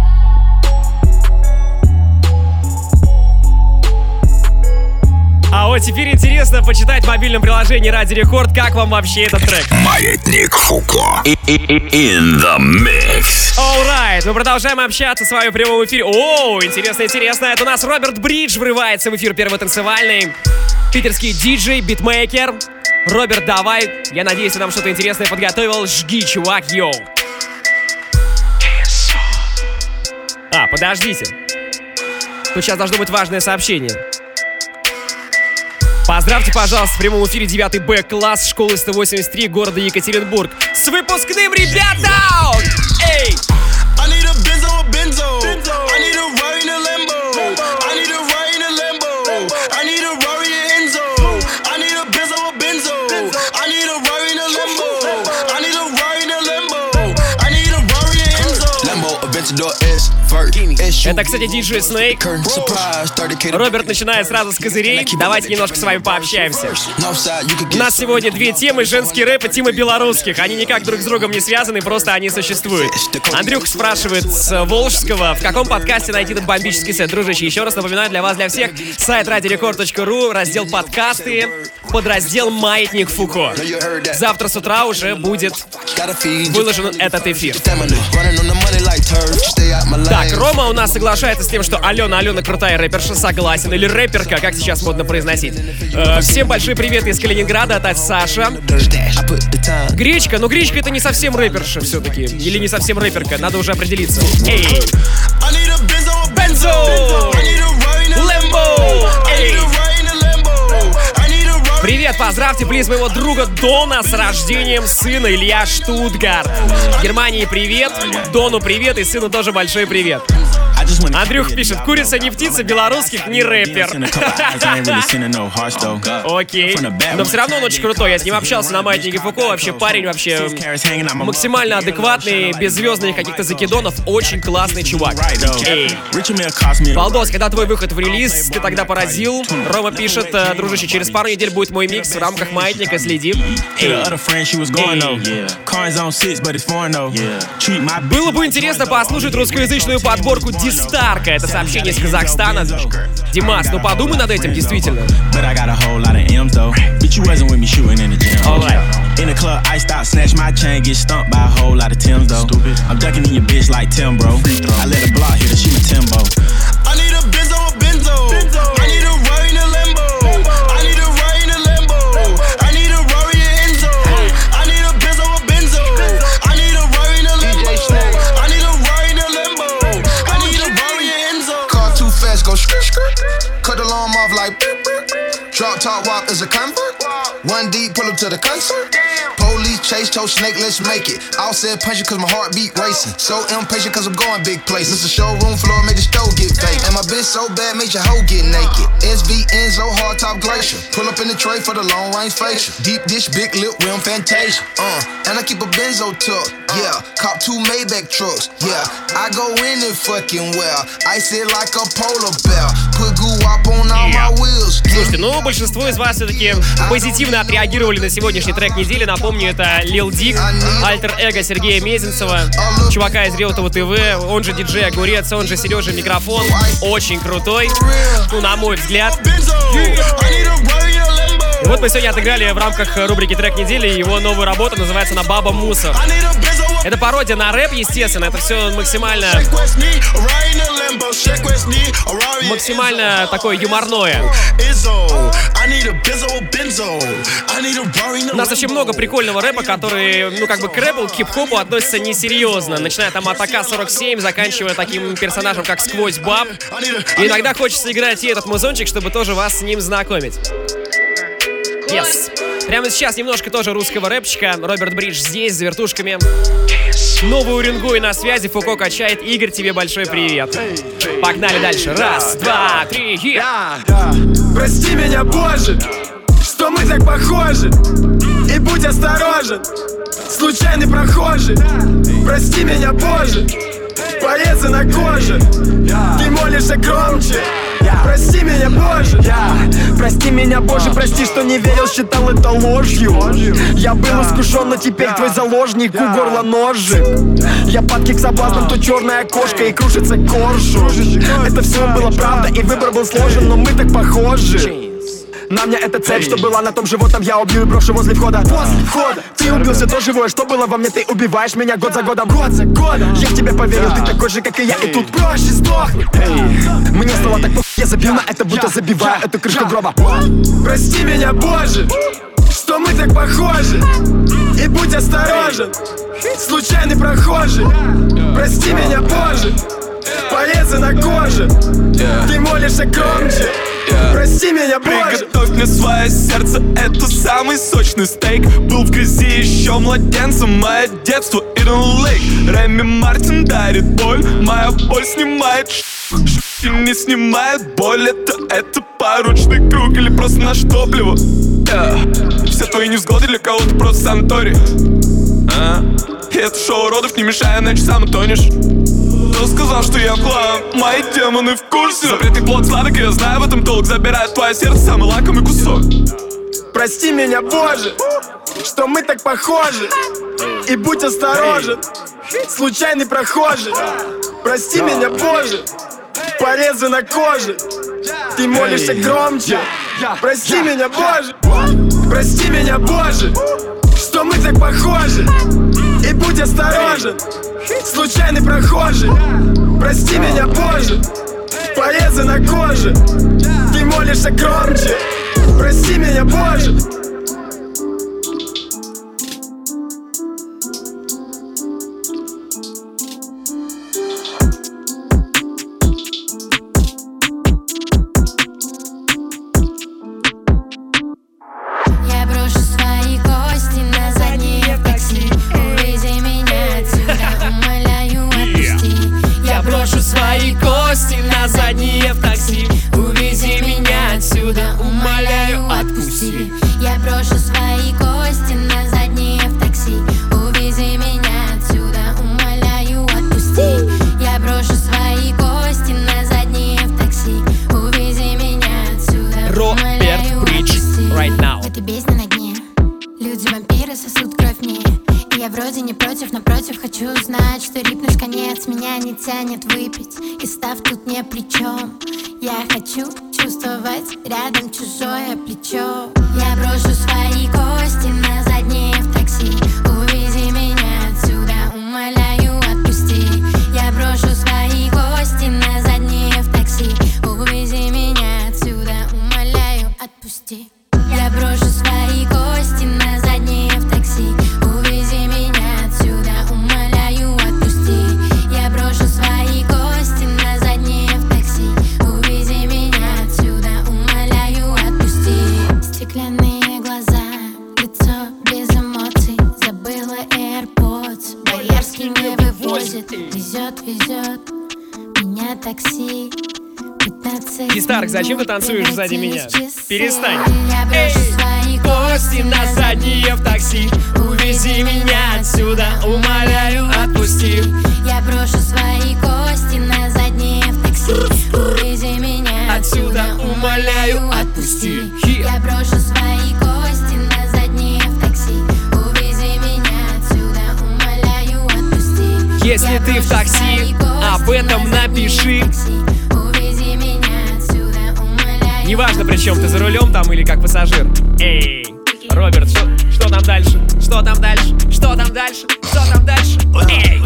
А вот теперь интересно почитать в мобильном приложении Ради Рекорд, как вам вообще этот трек. Маятник Фуко. In the mix. Alright, мы продолжаем общаться с вами в прямом эфире. О, интересно, интересно. Это у нас Роберт Бридж врывается в эфир первый танцевальный. Питерский диджей, битмейкер. Роберт, давай. Я надеюсь, ты нам что-то интересное подготовил. Жги, чувак, йоу. Подождите. Тут сейчас должно быть важное сообщение. Поздравьте, пожалуйста, в прямом эфире 9-й Б-класс школы 183 города Екатеринбург с выпускным, ребята! Эй! Это, кстати, DJ Snake. Роберт начинает сразу с козырей. Давайте немножко с вами пообщаемся. У нас сегодня две темы: женский рэп и темы белорусских. Они никак друг с другом не связаны, просто они существуют. Андрюха спрашивает с Волжского, в каком подкасте найти этот бомбический сет. Дружище, еще раз напоминаю для вас, для всех, сайт radiorecord.ru, раздел подкасты, подраздел «Маятник Фуко». Завтра с утра уже будет выложен этот эфир. Так, Рома у нас соглашается с тем, что Алена крутая рэперша, согласен. Или рэперка, как сейчас модно произносить. Всем большой привет из Калининграда, от Саша. Гречка, но Гречка это не совсем рэперша все-таки. Или не совсем рэперка, надо уже определиться. Эй! Бензо! Лэмбо! Эй! Привет, поздравьте, плиз, моего друга Дона с рождением сына, Илья Штутгарт. Германии привет, Дону привет и сыну тоже большой привет. Андрюх пишет: курица не птица, белорусских не рэпер. Окей. Но все равно он очень крутой. Я с ним общался на маятнике Фуко. Вообще парень вообще максимально адекватный, без звездных каких-то закидонов. Очень классный чувак. Эй. Балдос, когда твой выход в релиз, ты тогда поразил. Рома пишет: дружище, через пару недель будет мой микс в рамках маятника, следи. Было бы интересно послушать русскоязычную подборку Дистарка. Это сообщение из Казахстана. Димас, ну подумай над этим, действительно. Cut the alarm off like drop top walk is a comfort. One deep, pull up to the concert. Police chase, told Snake, let's make it. All said punch it cause my heartbeat racing. So impatient cause I'm going big places. Mr. Showroom floor made the stove get vacant. And my bitch so bad made your hoe get naked. SV Enzo, hard top glacier. Pull up in the tray for the long range facial. Deep dish, big lip, rim fantasia. And I keep a Benzo tuck. Yeah, cop 2 Maybach trucks. Yeah, I go in it fucking well. Ice it like a polar bear. Put goo up on all my wheels. Слушайте, ну большинство из вас все-таки позитивно отреагировали на сегодняшний трек недели. Напомню, это Lil Dick, альтер-эго Сергея Мезенцева, чувака из Реутова ТВ, он же диджей Огурец, он же Сережа Микрофон. Очень крутой, ну, на мой взгляд. И вот мы сегодня отыграли в рамках рубрики «Трек недели» его новую работу, называется она «Баба Мусор». Это пародия на рэп, естественно, это все максимально такое юморное. У нас очень много прикольного рэпа, который, ну, как бы к рэпу, к хип-хопу относится несерьезно. Начиная там от АК-47, заканчивая таким персонажем, как Сквозь Баб. И иногда хочется играть и этот музончик, чтобы тоже вас с ним знакомить. Yes. Прямо сейчас немножко тоже русского рэпчика. Роберт Бридж здесь, за вертушками. Новый Уренгой на связи, Фуко качает. Игорь, тебе большой привет. Погнали дальше. Раз, два, три, Прости меня, Боже, что мы так похожи. И будь осторожен, случайный прохожий. Прости меня, Боже, порезы на коже. Ты молишься громче. Прости меня, Боже. Прости меня, Боже, прости, что не верил, считал это ложью. Я был искушен, но теперь твой заложник, у горла ножик. Я падки к соблазнам, то черная кошка и кружится коржу. Это все было правда, и выбор был сложен, но мы так похожи. На мне эта цепь, что была на том животом, я убью и брошу возле входа. После входа ты убил все то живое, что было во мне. Ты убиваешь меня год за годом. Год за годом я в тебя поверил, ты такой же, как и я. И тут проще сдохнуть. Мне стало так плохо, я забил на это, будто забиваю эту крышку гроба. Прости меня, Боже, что мы так похожи. И будь осторожен, случайный прохожий. Прости меня, Боже, порезы на коже. Ты молишься громче. Прости меня, Боже. Приготовь мне свое сердце, это самый сочный стейк. Был в грязи еще младенцем, мое детство Иден Лейк. Реми Мартин дарит боль, моя боль снимает и не снимает боль. Это порочный круг или просто наше топливо. Все твои невзгоды для кого-то просто санаторий. И это шоу уродов, не мешай, иначе сам утонешь. Кто сказал, что я клан? Мои демоны в курсе. Запретный плод сладок, и я знаю в этом толк. Забирает твое сердце, самый лакомый кусок. Прости меня, Боже, что мы так похожи. И будь осторожен, случайный прохожий. Прости меня, Боже, порезы на коже. Ты молишься громче. Прости меня, Боже. Прости меня, Боже, что мы так похожи. И будь осторожен, случайный прохожий. Прости меня, Боже, порезы на коже. Ты молишься громче. Прости меня, Боже. Свои кости на задние в такси. Увези меня отсюда, умоляю, отпусти. Я брошу свои кости на задние в такси. Увези меня отсюда, умоляю, отпусти. Я брошу свои кости на задние в такси. Увези меня отсюда, умоляю, отпусти. Right now. В этой бездне на дне люди-вампиры сосут кровь мне. Я вроде не против, напротив, хочу знать, что рипнешь конец, меня не тянет выпить, и став тут не при чем. Я хочу чувствовать рядом чужое плечо. Я брошу свои кости на задние в такси. Увези меня отсюда, умоляю, отпусти. Я брошу свои кости на задние в такси. Увези меня отсюда, умоляю, отпусти. Я брошу свои кости на задние в такси. Увези меня отсюда, умоляю, отпусти. Я брошу свои кости на задние в такси. Увези меня отсюда, умоляю, отпусти. Стеклянные глаза, лицо без эмоций. Забыла AirPods, Боярский не вывозит. Везет, везет меня такси. Кистарк, зачем ты танцуешь сзади меня? Перестань. Эй, свои кости на задние в такси. Увези меня отсюда, умоляю, отпусти. Я брошу свои кости на задние в такси. Увези меня отсюда, умоляю, отпусти. Я брошу свои кости на задние в такси. Увези меня отсюда, умоляю, отпусти. Если ты в такси, об этом напиши. Неважно, при чем ты за рулем там или как пассажир. Эй, Роберт, что там дальше? Что там дальше? Что там дальше? Что там дальше? Эй!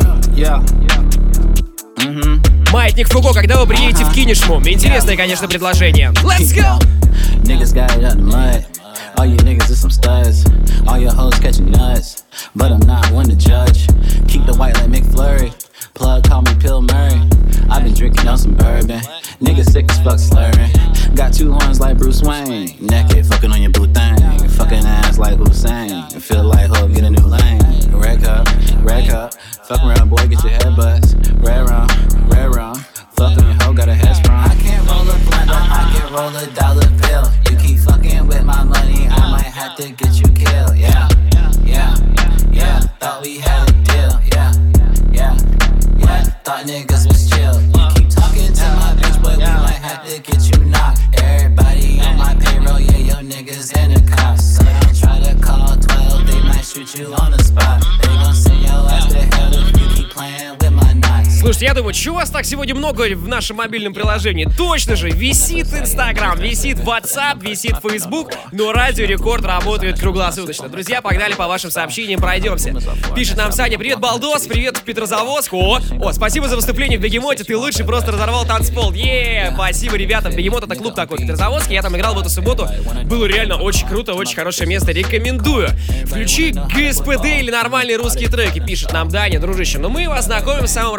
Маятник Фуко, когда вы приедете в Кинешму? Интересное, конечно, предложение. Let's go! Niggas got it out the mud. All you niggas is some studs. All your hoes catching nuts. But I'm not one to judge. Keep the white like McFlurry. Plug, call me Pill Murray. I've been drinking on some bourbon. Niggas sick as fuck slurring. Got two horns like Bruce Wayne. Naked, fucking on your blue thing. Fucking ass like Hussein. Feel like hope, get a new lane. Red cup, red cup. Fuck around, boy, get your head buzzed. Red rum, red rum. Fuck on your hoe, got a head sprung. I can't roll a blunt, but I can roll a dollar bill. You keep fucking with my money, I might have to get you killed. Yeah, yeah, yeah. Thought we had a deal. Yeah, yeah, yeah. Thought niggas was chill. You keep talking to my bitch, but we might have to get you knocked. Everybody on my payroll, yeah, your niggas in the cops. So don't try to call 12, they might shoot you on the spot. They gon' send your ass to hell if you keep playing with my knots. Слушайте, я думаю, чего вас так сегодня много в нашем мобильном приложении? Точно же, висит Инстаграм, висит WhatsApp, висит Facebook, но Радио Рекорд работает круглосуточно. Друзья, погнали по вашим сообщениям, пройдемся. Пишет нам Саня: привет, Балдос, привет, Петрозаводск. О, спасибо за выступление в Бегемоте, ты лучший, просто разорвал танцпол. Спасибо, ребята, Бегемот — это клуб такой в Петрозаводске, я там играл в эту субботу, было реально очень круто, очень хорошее место, рекомендую. Включи ГСПД или нормальные русские треки, пишет нам Даня, дружище. Но мы вас знакомим с самым разным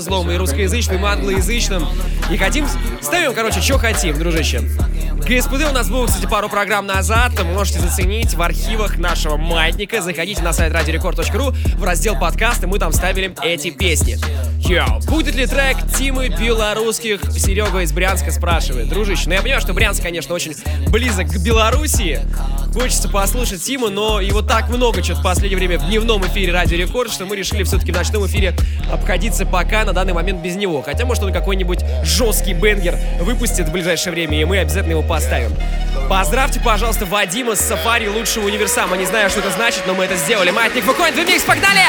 злом, и русскоязычным, и англоязычным. И хотим, ставим, короче, что хотим, дружище. ГСПД у нас было, кстати, пару программ назад. Можете заценить в архивах нашего маятника. Заходите на сайт radiorecord.ru в раздел подкасты, мы там ставили эти песни. Йоу, будет ли трек Тимы белорусских? Серега из Брянска спрашивает. Дружище, ну я понимаю, что Брянск, конечно, очень близок к Белоруссии. Хочется послушать Тиму, но его так много что-то в последнее время в дневном эфире Радио Рекорд, что мы решили все-таки в ночном эфире обходиться пока на данный момент без него. Хотя, может, он какой-нибудь жесткий бенгер выпустит в ближайшее время, и мы обязательно его поставим. Поздравьте, пожалуйста, Вадима с Сафари лучшего универсама. Не знаю, что это значит, но мы это сделали. Маятник Фуко, Двимикс, погнали!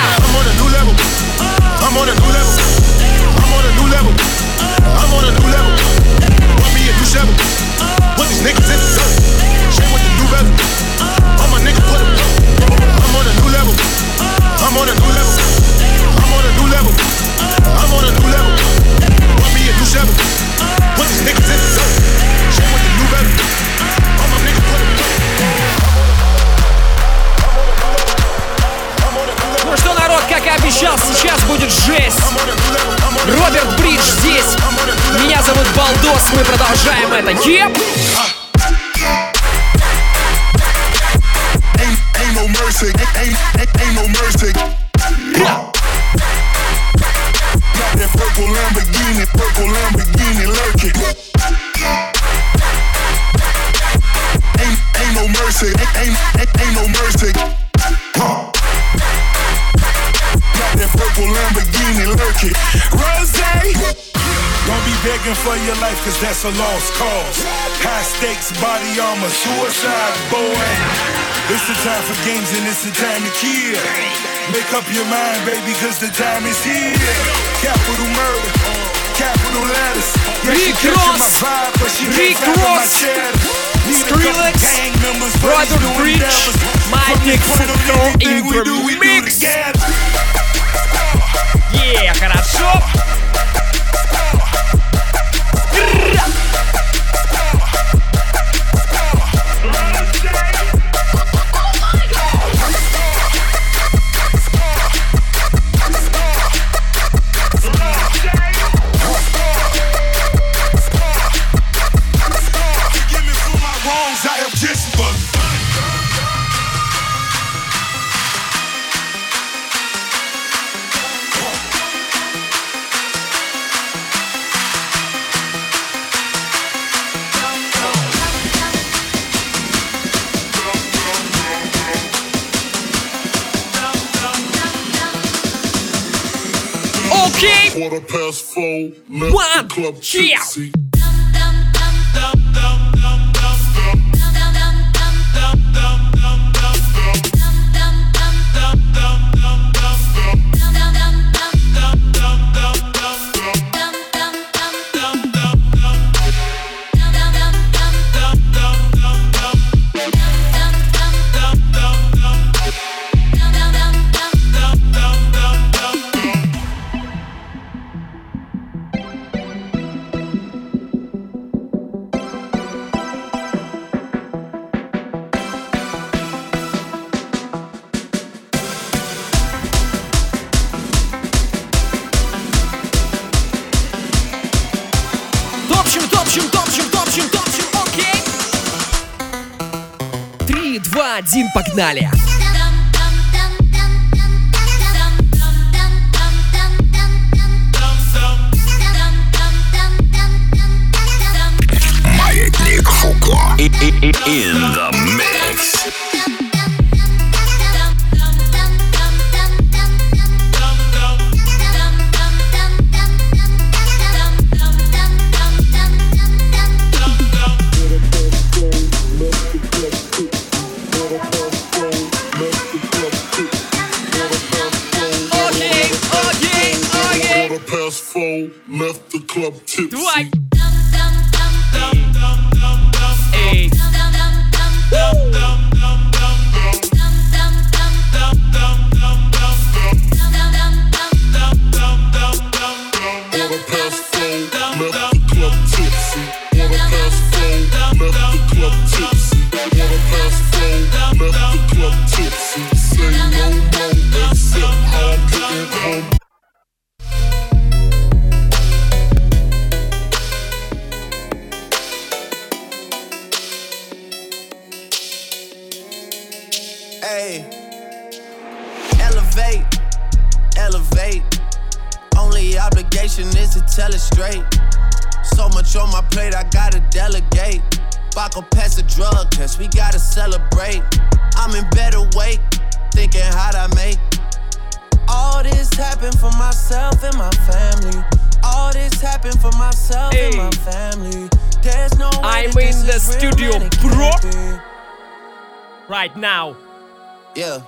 Ну что, народ, как и обещал, сейчас будет жесть. Роберт Бридж здесь. Меня зовут Балдос, мы продолжаем это. Еп! Ain't no mercy, ain't no mercy. Got that purple Lamborghini lurking. Ain't no mercy, ain't no mercy. Got that purple Lamborghini lurking. Rose, don't be begging for your life, cause that's a lost cause. High stakes, body armor, suicide, boy. It's the time for games and it's the time to kill. Make up your mind, baby, cause the time is here. Capital murder, capital letters. Yeah, she catching my vibe, but she can't find my cheddar. Skrillex, Brother Breach, Маятник Фуко in the mix. Yeah, хорошо. Okay. 4:04, One, yeah. Топчем, окей. 3, 2, 1, погнали. Маятник Фуко in the mix. Ayy. Elevate, elevate. Only obligation is to tell it straight. So much on my plate, I gotta delegate. Baco pass a drug test, we gotta celebrate. I'm in better weight, thinking how'd I make. All this happened for myself and my family. All this happened for myself and my family. There's no way I'm in the studio, bro. Right now. Yeah.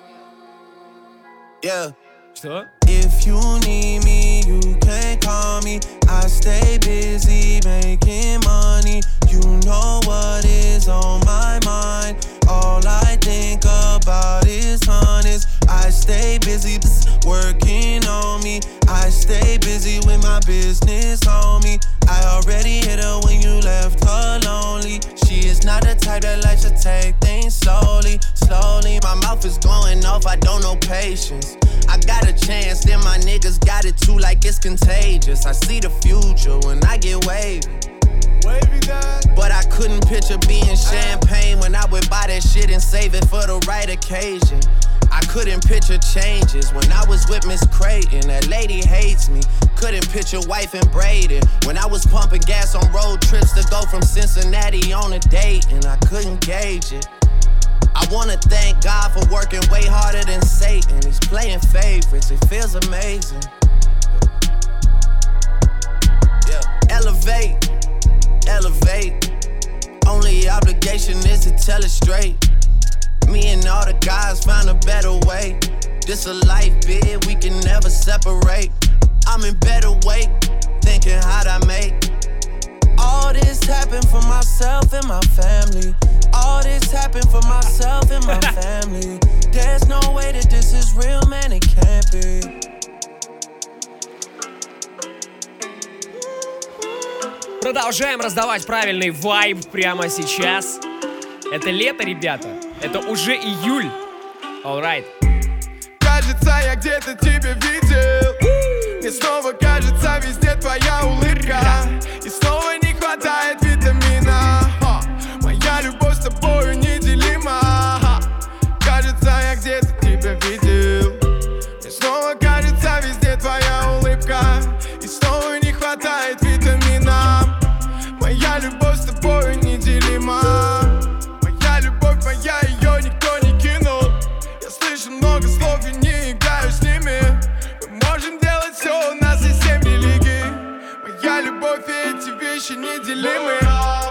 Yeah. Что? If you need me, you can call me. I stay busy making money. You know what is on my mind. All I think about is honest. I stay busy working on me. I stay busy with my business, homie. I already hit her when you left her lonely. She is not the type that likes to take things slowly, slowly. My mouth is going off, I don't know patience. I got a chance, then my niggas got it too, like it's contagious. I see the future when I get wavy. But I couldn't picture being champagne when I would buy that shit and save it for the right occasion. I couldn't picture changes when I was with Miss Creighton. That lady hates me. Couldn't picture wife and Braden when I was pumping gas on road trips to go from Cincinnati on a date, and I couldn't gauge it. I wanna thank God for working way harder than Satan. He's playing favorites, it feels amazing. Yeah. Elevate, elevate. Only obligation is to tell it straight. Me and all the guys found a better way. This a life bid, we can never separate. I'm in better weight, thinking how'd I make. All this happened for myself and my family. All this happened for myself and my family. There's no way that this is real, man, it can't be. Продолжаем раздавать правильный вайб прямо сейчас. Это лето, ребята. Это уже июль. Alright. Кажется, я где-то тебя видел. Мне снова кажется, везде твоя улыбка. И снова не хватает витамина. Моя любовь с тобою неделима. Кажется, я где-то тебя видел. Мне снова кажется, везде твоя улыбка. И снова не хватает витамина. Моя любовь с тобою неделима. Моя любовь моя, ее никто не кинул. Я слышу много слов и не играю с ними. Мы можем делать все, у нас есть 7 религий. Моя любовь и эти вещи неделимы.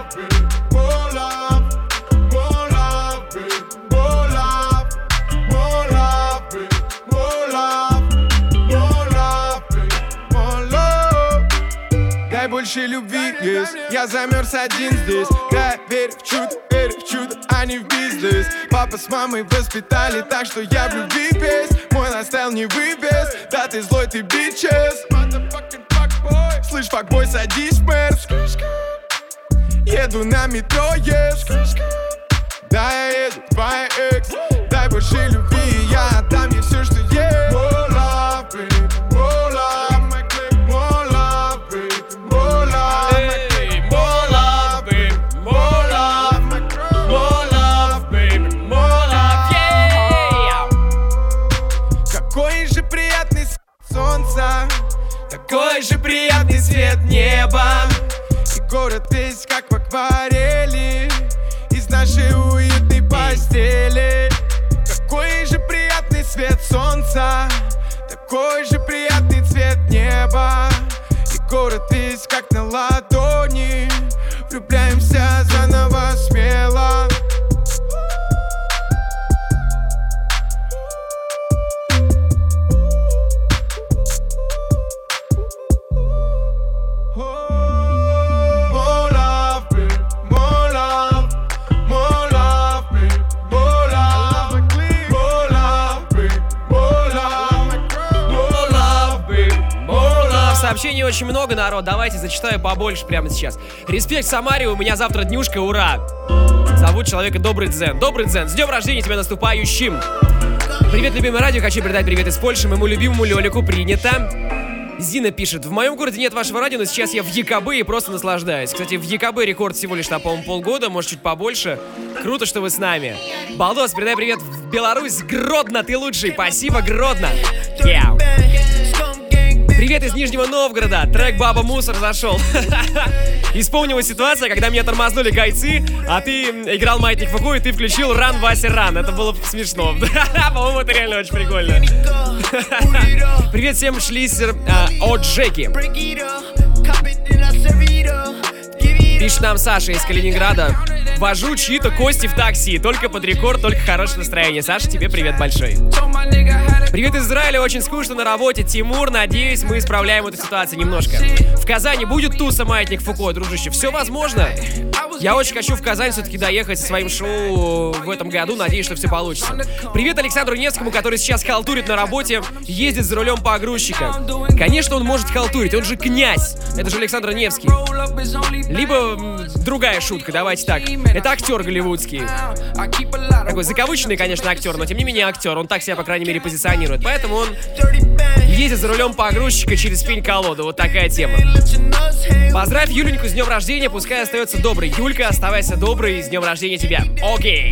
Больше любви, yes. Я замерз один здесь. Да, верю в чудо, а не в бизнес. Папа с мамой воспитали так, что я в любви без. Мой лайфстайл не выбез. Да, ты злой, ты бичес. Слышь, факбой, садись, мэр. Еду на метро, yes. Да, я еду, твоя экс. Дай больше любви, я отдам ей все, что есть. More love, baby, more love. Такой же приятный свет неба. И город весь как в акварели из нашей уютной постели. Такой же приятный свет солнца. Такой же приятный цвет неба. И город весь как на ладони. Влюбляемся заново смело. Сообщений очень много, народ. Давайте зачитаю побольше прямо сейчас. Респект Самаре, у меня завтра днюшка, ура! Зовут человека Добрый Дзен. Добрый Дзен, с днем рождения тебя наступающим! Привет, любимое радио, хочу передать привет из Польши моему любимому Лёлику, принято. Зина пишет: в моем городе нет вашего радио, но сейчас я в ЕКБ и просто наслаждаюсь. Кстати, в ЕКБ рекорд всего лишь, по-моему, полгода, может, чуть побольше. Круто, что вы с нами. Балдос, передай привет в Беларусь. Гродно, ты лучший. Спасибо, Гродно. Yeah. Привет из Нижнего Новгорода. Трек «Баба Мусор» зашел. И вспомнилась ситуация, когда меня тормознули гайцы, а ты играл «Маятник Фуко», и ты включил «Ран, Вася, ран». Это было смешно. По-моему, это реально очень прикольно. Привет всем, шлиссер от Джеки. Пишет нам Саша из Калининграда. Вожу чьи-то кости в такси. Только под рекорд, только хорошее настроение. Саша, тебе привет большой. Привет из Израиля, очень скучно на работе. Тимур, надеюсь, мы исправляем эту ситуацию немножко. В Казани будет туса «Маятник Фуко», дружище. Все возможно. Я очень хочу в Казань все-таки доехать со своим шоу в этом году. Надеюсь, что все получится. Привет Александру Невскому, который сейчас халтурит на работе, ездит за рулем погрузчика. Конечно, он может халтурить, он же князь. Это же Александр Невский. Либо другая шутка, давайте так. Это актер голливудский. Такой закавыченный, конечно, актер, но тем не менее актер. Он так себя, по крайней мере, позиционирует. Поэтому он ездит за рулем погрузчика через пень-колоду. Вот такая тема. Поздравь Юленьку с днем рождения, пускай остается доброй. Юлька, оставайся доброй, с днем рождения тебя. Окей.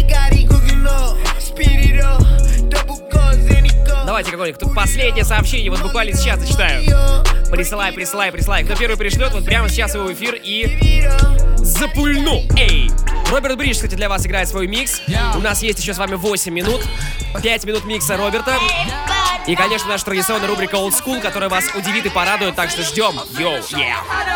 Давайте какое-нибудь последнее сообщение, вот буквально сейчас зачитаю. Присылай. Кто первый пришлет, вот прямо сейчас его в эфир и запульну. Эй! Роберт Бридж, кстати, для вас играет свой микс. У нас есть еще с вами 8 минут. 5 минут микса Роберта. И, конечно, наша традиционная рубрика Old School, которая вас удивит и порадует, так что ждем. Йоу, yeah.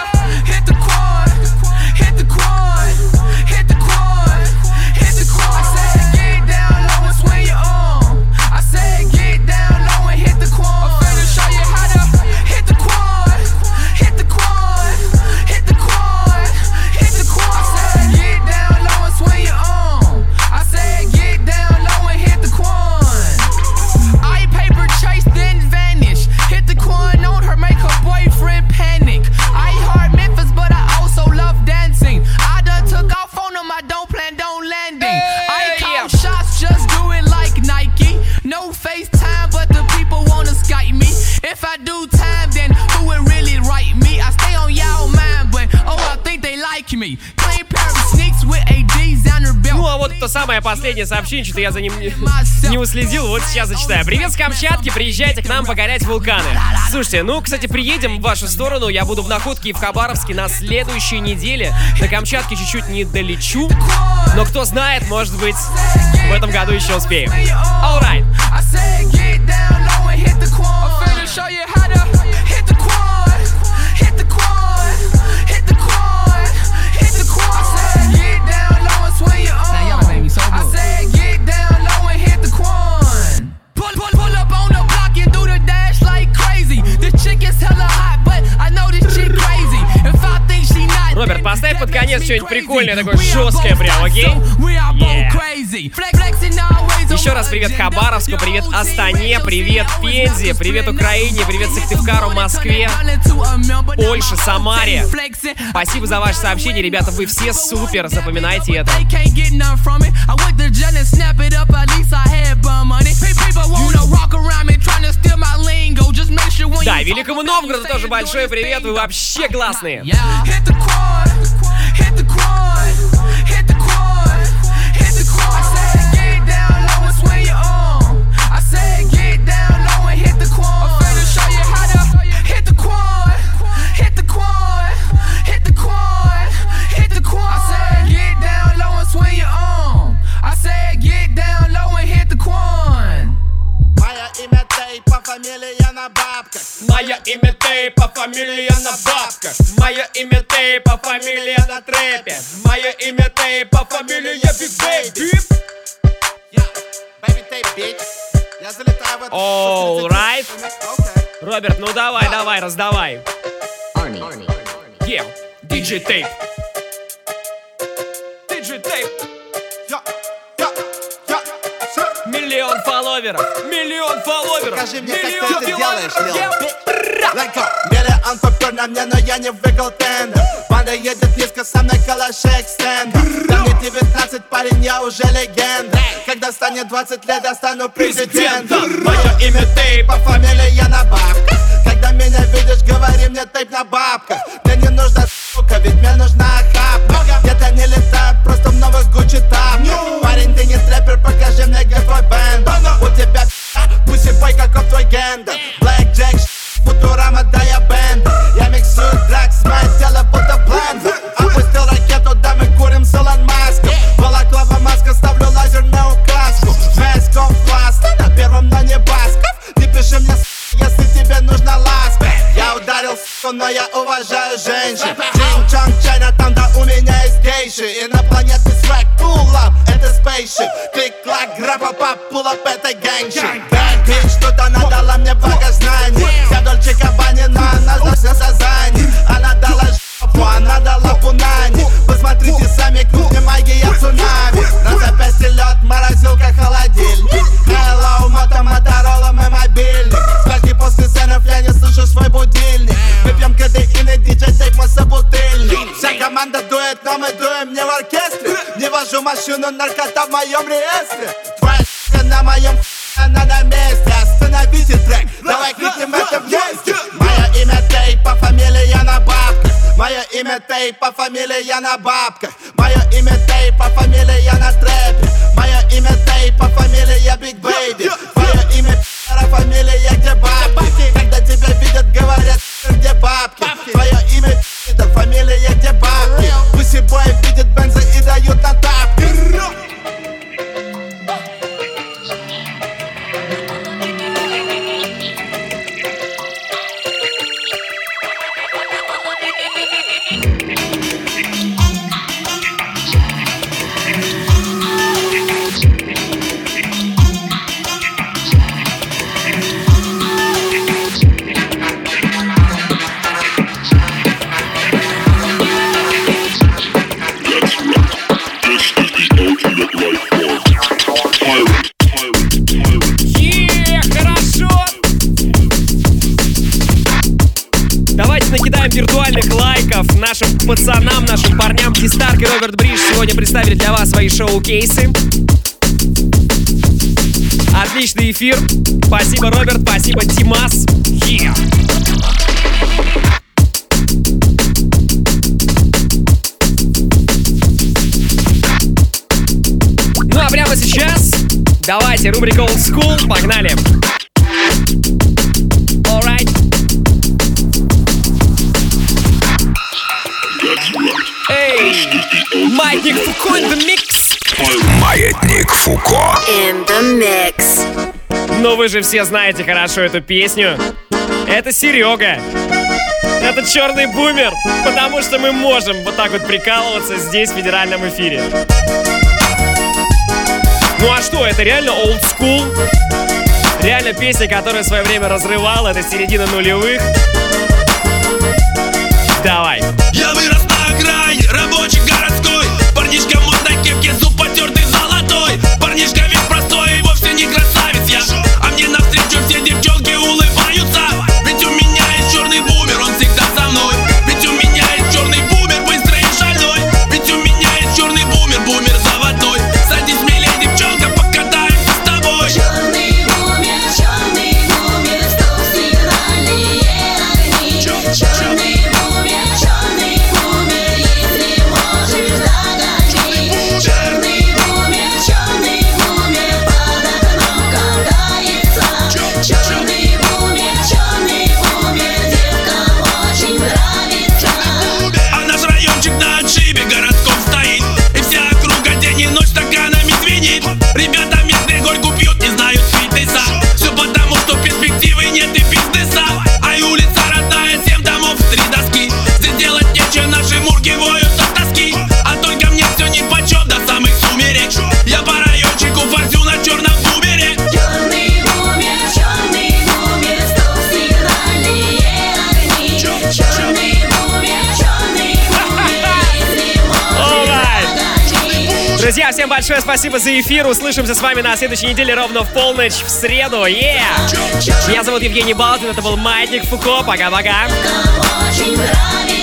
Ну а вот то самое последнее сообщение, что-то я за ним не уследил, вот сейчас зачитаю. Привет с Камчатки, приезжайте к нам покорять вулканы. Слушайте, ну, кстати, приедем в вашу сторону, я буду в Находке и в Хабаровске на следующей неделе. До Камчатки чуть-чуть не долечу, но кто знает, может быть, в этом году еще успеем. Alright. Роберт, поставь под конец что-нибудь прикольное, такое жесткое прям, окей? Еще раз привет Хабаровску, привет Астане, привет Пензе, привет Украине, привет Сыктывкару, Москве, Польше, Самаре. Спасибо за ваше сообщение, ребята, вы все супер, запоминайте это. Да, Великому Новгороду тоже большой привет, вы вообще классные. Мое имя Тейпа, фамилия на бабках. Мое имя Тейпа, фамилия на трэпе. Мое имя Тейпа, фамилия Биг Бэйби. Alright. Роберт, ну давай, раздавай. Yeah, DJ Tape. DJ Tape. Миллион фолловеров. Покажи мне, как ты это делаешь, Миллион попер на мне, но я не выиграл тендер. Банда едет низко, со мной калаши экстендер. Да мне 19, парень, я уже легенда. Когда станет 20 лет, я стану президентом. Мое имя Тейпа, фамилия на бабках. когда меня видишь, говори мне тейп на бабках. Мне не нужна сука, ведь мне нужна охапка. Где-то не летают, просто в новых Гуччи тапках. Парень, ты не трэпер, покажи мне, где твой бэнд. У тебя пусибой, каков твой гендер. Black Jack, Футурама, да я бэнд. Я миксую дракс, мое тело будто блендер. Опустил ракету, да мы курим с Илон Маском. Балаклава, маска, ставлю лазерную указку. Mask of Blast, на первом, но не Басков. Ты пиши мне, если тебе нужна ласка. Я ударил, но я уважаю женщин. Чинг-чонг, Чайна, там, да у меня есть гейши. Инопланетный свэг, pull up, это спейшип. Клик-клак, грапа-пап, pull up, это гэнгшит. Bad bitch, что-то она дала мне богознание. Вся Дольче Габбана, но она на Сазани. Она дала жопу, она дала пунани. Посмотрите сами, крутни магия цунами. На запястье лед, морозилка, холодильник. Hello, Моторола, мой мобильник. Скольки после сценов я не слышу свой будильник. Мы пьем кадеин и диджей-тейп, мы собутыльник. Вся команда дует, но мы дуем не в оркестре. Не вожу машину, наркота в моем реестре. Твоя на моем она на месте. Остановите трек, давай крикнем это вместе. Мое имя Тейп, по фамилии я на бабках. Мое имя Тейп, по фамилии я на бабках. Мое имя Тейп, по фамилии я на трэпе. Мое имя Тейп, по фамилии я Биг Бэйби. Мое имя фамилия, где бабки. Когда тебя видят, говорят, где бабки. Твое имя это фамилия, где бабки. Пусибой видят бензы и дают на тапки. Виртуальных лайков нашим пацанам, нашим парням. Ди-Старк и Роберт Бридж сегодня представили для вас свои шоу-кейсы. Отличный эфир. Спасибо, Роберт, спасибо, Димас. Ну а прямо сейчас давайте рубрика Old School. Погнали. Alright. Эй, Маятник Фуко in the mix. Маятник Фуко In the mix. Ну вы же все знаете хорошо эту песню. Это Серега. Это черный бумер. Потому что мы можем вот так вот прикалываться здесь в федеральном эфире. Ну а что, это реально old school. Реально песня, которая в свое время разрывала. Это середина нулевых. Давай. Я вырос на окраине, рабочий городской. Парнишка в модной кепке, зуб потертый золотой. Парнишка весь простой и вовсе не красавец я. А мне навстречу все девчонки улыбаются. Ведь у меня есть черный бумер, он всегда со мной. Ведь у меня есть черный бумер, быстрый и шальной. Ведь у меня есть черный бумер, бумер заводной. Садись смелей, девчонка, покатаемся с тобой. Черный бумер, стоп, сигнальные огни. Черный бумер, если можешь догони. Черный бумер, под окном катается. Черный бумер, девкам очень нравится. А наш райончик на отшибе городком стоит. И вся округа день и ночь стаканами звенит. Ребята местные горьку пьют, не знают фитнеса. Все потому, что перспективы нет и бизнеса. А и улица родная, 7 домов, 3 доски. Здесь делать нечего, наши мурки воют от тоски. А только мне все нипочем до самых сумерек. Я по райончику форсю на черном бумере. Черный бумер, стоп, сигнальные огни. Черный бумер, если можешь догони. Друзья, всем большое спасибо за эфир. Услышимся с вами на следующей неделе ровно в полночь в среду. Меня зовут Евгений Балдин, это был Маятник Фуко. Пока-пока. Очень нравится.